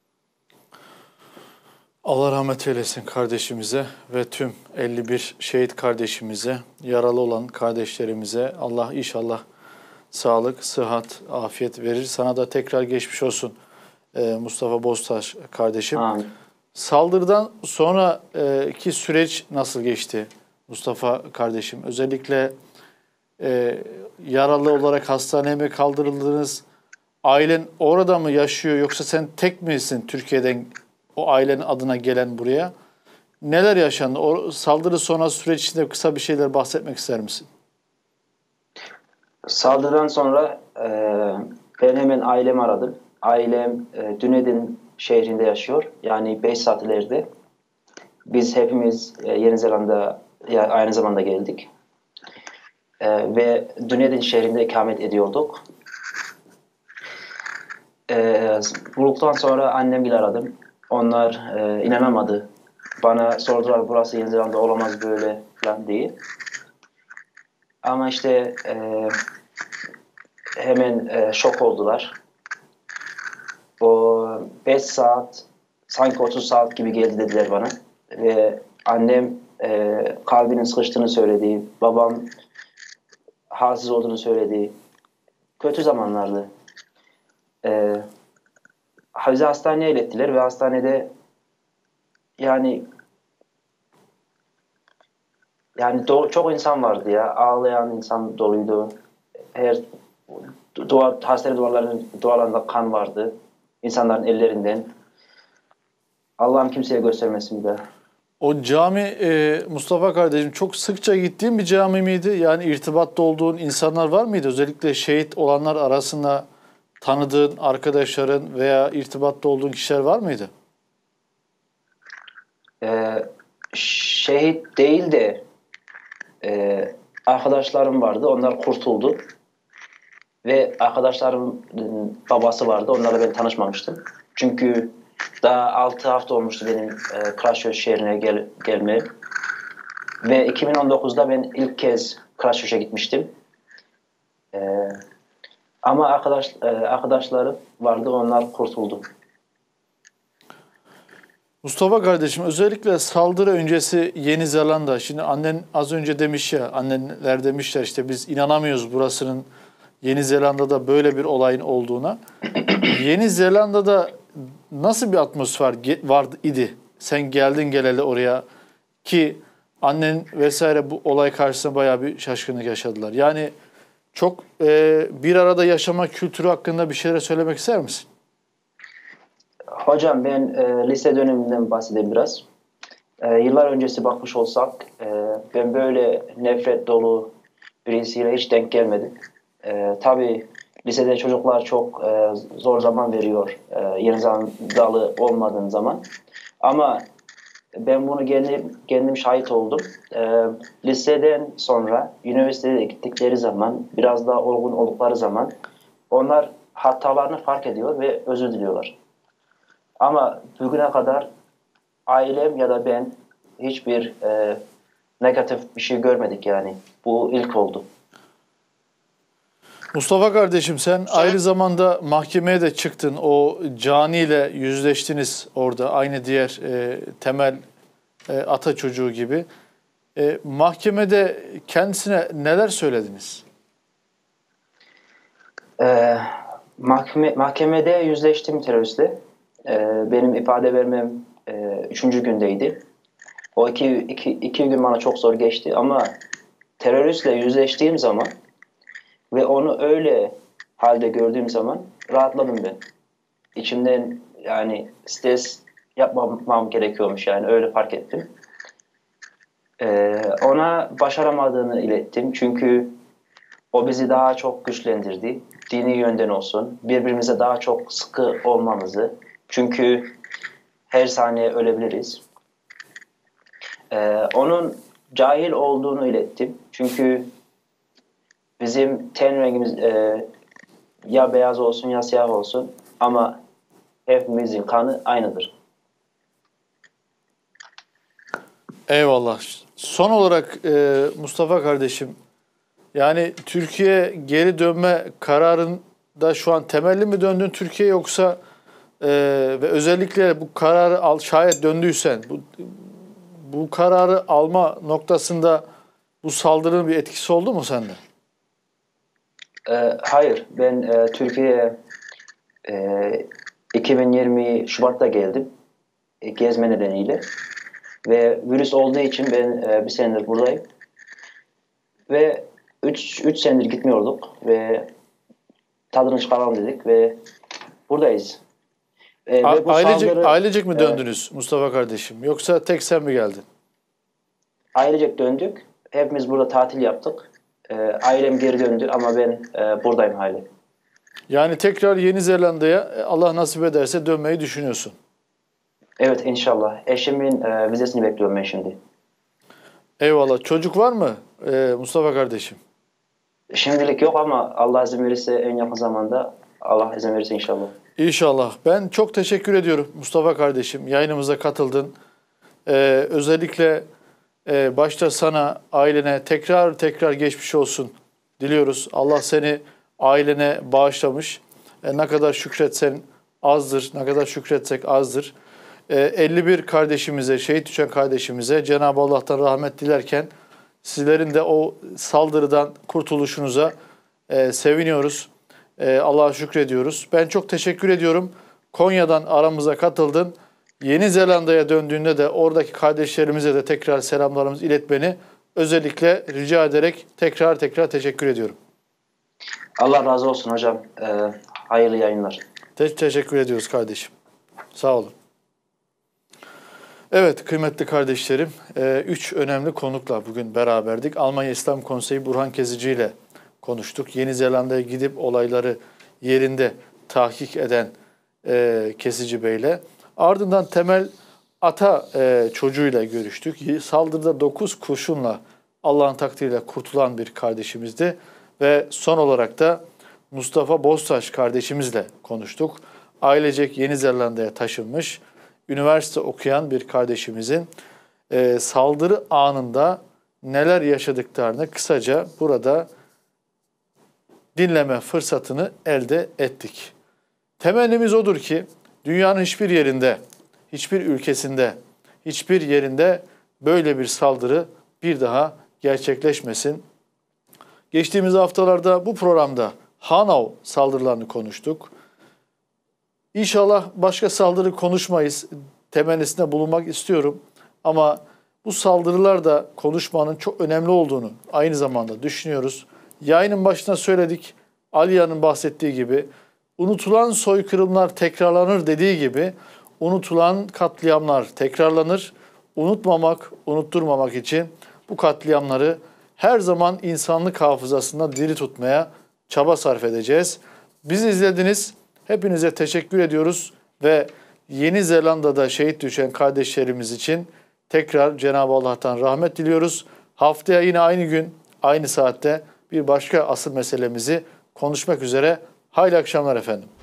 Allah rahmet eylesin kardeşimize ve tüm elli bir şehit kardeşimize, yaralı olan kardeşlerimize Allah inşallah sağlık, sıhhat, afiyet verir. Sana da tekrar geçmiş olsun Mustafa Boztaş kardeşim. Amin. Saldırıdan sonraki süreç nasıl geçti Mustafa kardeşim? Özellikle e, yaralı olarak hastaneye mi kaldırıldınız? Ailen orada mı yaşıyor yoksa sen tek misin Türkiye'den o ailenin adına gelen buraya? Neler yaşandı? O saldırı sonrası süreç içinde kısa bir şeyler bahsetmek ister misin? Saldırıdan sonra e, ben hemen ailemi aradım. Ailem e, Dunedin şehrinde yaşıyor. Yani beş saat ileride. Biz hepimiz e, Yeni Zelanda ya, aynı zamanda geldik. E, ve Dunedin şehrinde ikamet ediyorduk. E, Bulduktan sonra annemgili aradım. Onlar e, inanamadı. Bana sordular burası Yeni Zelanda olamaz böyle falan diye. Ama işte e, hemen e, şok oldular. O beş saat sanki otuz saat gibi geldi dediler bana. Ve annem e, kalbinin sıkıştığını söyledi. Babam halsiz olduğunu söyledi. Kötü zamanlardı. E, bizi hastaneye ilettiler ve hastanede yani yani do- çok insan vardı ya. Ağlayan insan doluydu. Her duvar, hastane duvarlarının duvarlarında kan vardı. İnsanların ellerinden. Allah'ım kimseye göstermesin bir daha. O cami e, Mustafa kardeşim çok sıkça gittiğin bir cami miydi? Yani irtibatta olduğun insanlar var mıydı? Özellikle şehit olanlar arasında tanıdığın arkadaşların veya irtibatta olduğun kişiler var mıydı? Ee, şehit değil de e, arkadaşlarım vardı. Onlar kurtuldu. Ve arkadaşlarımın babası vardı. Onlarla ben tanışmamıştım. Çünkü daha altı hafta olmuştu benim e, Christchurch şehrine gel gelmeye. Ve iki bin on dokuzda ben ilk kez Christchurch'a gitmiştim. E, ama arkadaş e, arkadaşlarım vardı. Onlar kurtuldu. Mustafa kardeşim özellikle saldırı öncesi Yeni Zelanda. Şimdi annen az önce demiş ya, annenler demişler işte biz inanamıyoruz burasının Yeni Zelanda'da böyle bir olayın olduğuna. Yeni Zelanda'da nasıl bir atmosfer vardı idi? Sen geldin geleli oraya ki annen vesaire bu olay karşısında bayağı bir şaşkınlık yaşadılar. Yani çok e, bir arada yaşama kültürü hakkında bir şeyler söylemek ister misin? Hocam ben e, lise döneminden bahsedeyim biraz. E, yıllar öncesi bakmış olsak e, ben böyle nefret dolu birisiyle hiç denk gelmedim. E, tabii lisede çocuklar çok e, zor zaman veriyor e, Yeni Zelandalı olmadığın zaman. Ama ben bunu kendim, kendim şahit oldum. E, liseden sonra üniversiteye gittikleri zaman biraz daha olgun oldukları zaman onlar hatalarını fark ediyor ve özür diliyorlar. Ama bugüne kadar ailem ya da ben hiçbir e, negatif bir şey görmedik yani. Bu ilk oldu. Mustafa kardeşim sen aynı zamanda mahkemeye de çıktın. O caniyle yüzleştiniz orada. Aynı diğer e, temel e, ata çocuğu gibi. E, mahkemede kendisine neler söylediniz? E, mahkeme, mahkemede yüzleştim teröristle. E, benim ifade vermem e, üçüncü gündeydi. O iki, iki, iki gün bana çok zor geçti ama teröristle yüzleştiğim zaman ve onu öyle halde gördüğüm zaman rahatladım ben. İçimden yani stres yapmamam gerekiyormuş yani öyle fark ettim. Ee, ona başaramadığını ilettim çünkü o bizi daha çok güçlendirdi. Dini yönden olsun, birbirimize daha çok sıkı olmamızı. Çünkü her saniye ölebiliriz. Ee, onun cahil olduğunu ilettim. Çünkü bizim ten rengimiz e, ya beyaz olsun ya siyah olsun ama hepimizin kanı aynıdır. Eyvallah. Son olarak e, Mustafa kardeşim, yani Türkiye geri dönme kararında şu an temelli mi döndün Türkiye yoksa e, ve özellikle bu kararı al, şayet döndüysen bu, bu kararı alma noktasında bu saldırının bir etkisi oldu mu sende? Ee, hayır, ben e, Türkiye'ye e, iki bin yirmi Şubat'ta geldim. e, gezme nedeniyle. Ve virüs olduğu için ben e, bir senedir buradayım. Ve üç senedir gitmiyorduk ve tadını çıkaralım dedik ve buradayız. E, A- ve bu ailecek, saldırı, ailecek mi e, döndünüz Mustafa kardeşim? Yoksa tek sen mi geldin? ailecek döndük. Hepimiz burada tatil yaptık. E, ailem geri döndü ama ben e, buradayım hala. Yani tekrar Yeni Zelanda'ya e, Allah nasip ederse dönmeyi düşünüyorsun. Evet inşallah. Eşimin e, vizesini bekliyorum ben şimdi. Eyvallah. Çocuk var mı e, Mustafa kardeşim? Şimdilik yok ama Allah izin verirse en yakın zamanda Allah izin verirse inşallah. İnşallah. Ben çok teşekkür ediyorum Mustafa kardeşim. Yayınımıza katıldın. Ee, özellikle e, başta sana, ailene tekrar tekrar geçmiş olsun diliyoruz. Allah seni ailene bağışlamış. E, ne kadar şükretsen azdır, ne kadar şükretsek azdır. E, elli bir kardeşimize, şehit düşen kardeşimize Cenab-ı Allah'tan rahmet dilerken sizlerin de o saldırıdan kurtuluşunuza e, seviniyoruz. Ee, Allah'a şükrediyoruz. Ben çok teşekkür ediyorum. Konya'dan aramıza katıldın. Yeni Zelanda'ya döndüğünde de oradaki kardeşlerimize de tekrar selamlarımızı iletmeni özellikle rica ederek tekrar tekrar teşekkür ediyorum. Allah razı olsun hocam. E, hayırlı yayınlar. Te- teşekkür ediyoruz kardeşim. Sağ olun. Evet kıymetli kardeşlerim, e, üç önemli konukla bugün beraberdik. Almanya İslam Konseyi Burhan Kezici ile konuştuk. Yeni Zelanda'ya gidip olayları yerinde tahkik eden e, Kesici Bey'le. Ardından Temel Ata e, çocuğuyla görüştük. Saldırıda dokuz kurşunla Allah'ın takdiriyle kurtulan bir kardeşimizdi. Ve son olarak da Mustafa Boztaş kardeşimizle konuştuk. Ailecek Yeni Zelanda'ya taşınmış, üniversite okuyan bir kardeşimizin e, saldırı anında neler yaşadıklarını kısaca burada dinleme fırsatını elde ettik. Temennimiz odur ki dünyanın hiçbir yerinde, hiçbir ülkesinde, hiçbir yerinde böyle bir saldırı bir daha gerçekleşmesin. Geçtiğimiz haftalarda bu programda Hanau saldırılarını konuştuk. İnşallah başka saldırı konuşmayız. Temennisinde bulunmak istiyorum. Ama bu saldırılar da konuşmanın çok önemli olduğunu aynı zamanda düşünüyoruz. Yayının başına söyledik. Aliya'nın bahsettiği gibi unutulan soykırımlar tekrarlanır dediği gibi unutulan katliamlar tekrarlanır. Unutmamak, unutturmamak için bu katliamları her zaman insanlık hafızasında diri tutmaya çaba sarf edeceğiz. Bizi izlediniz. Hepinize teşekkür ediyoruz ve Yeni Zelanda'da şehit düşen kardeşlerimiz için tekrar Cenab-ı Allah'tan rahmet diliyoruz. Haftaya yine aynı gün, aynı saatte bir başka asıl meselemizi konuşmak üzere. Hayırlı akşamlar efendim.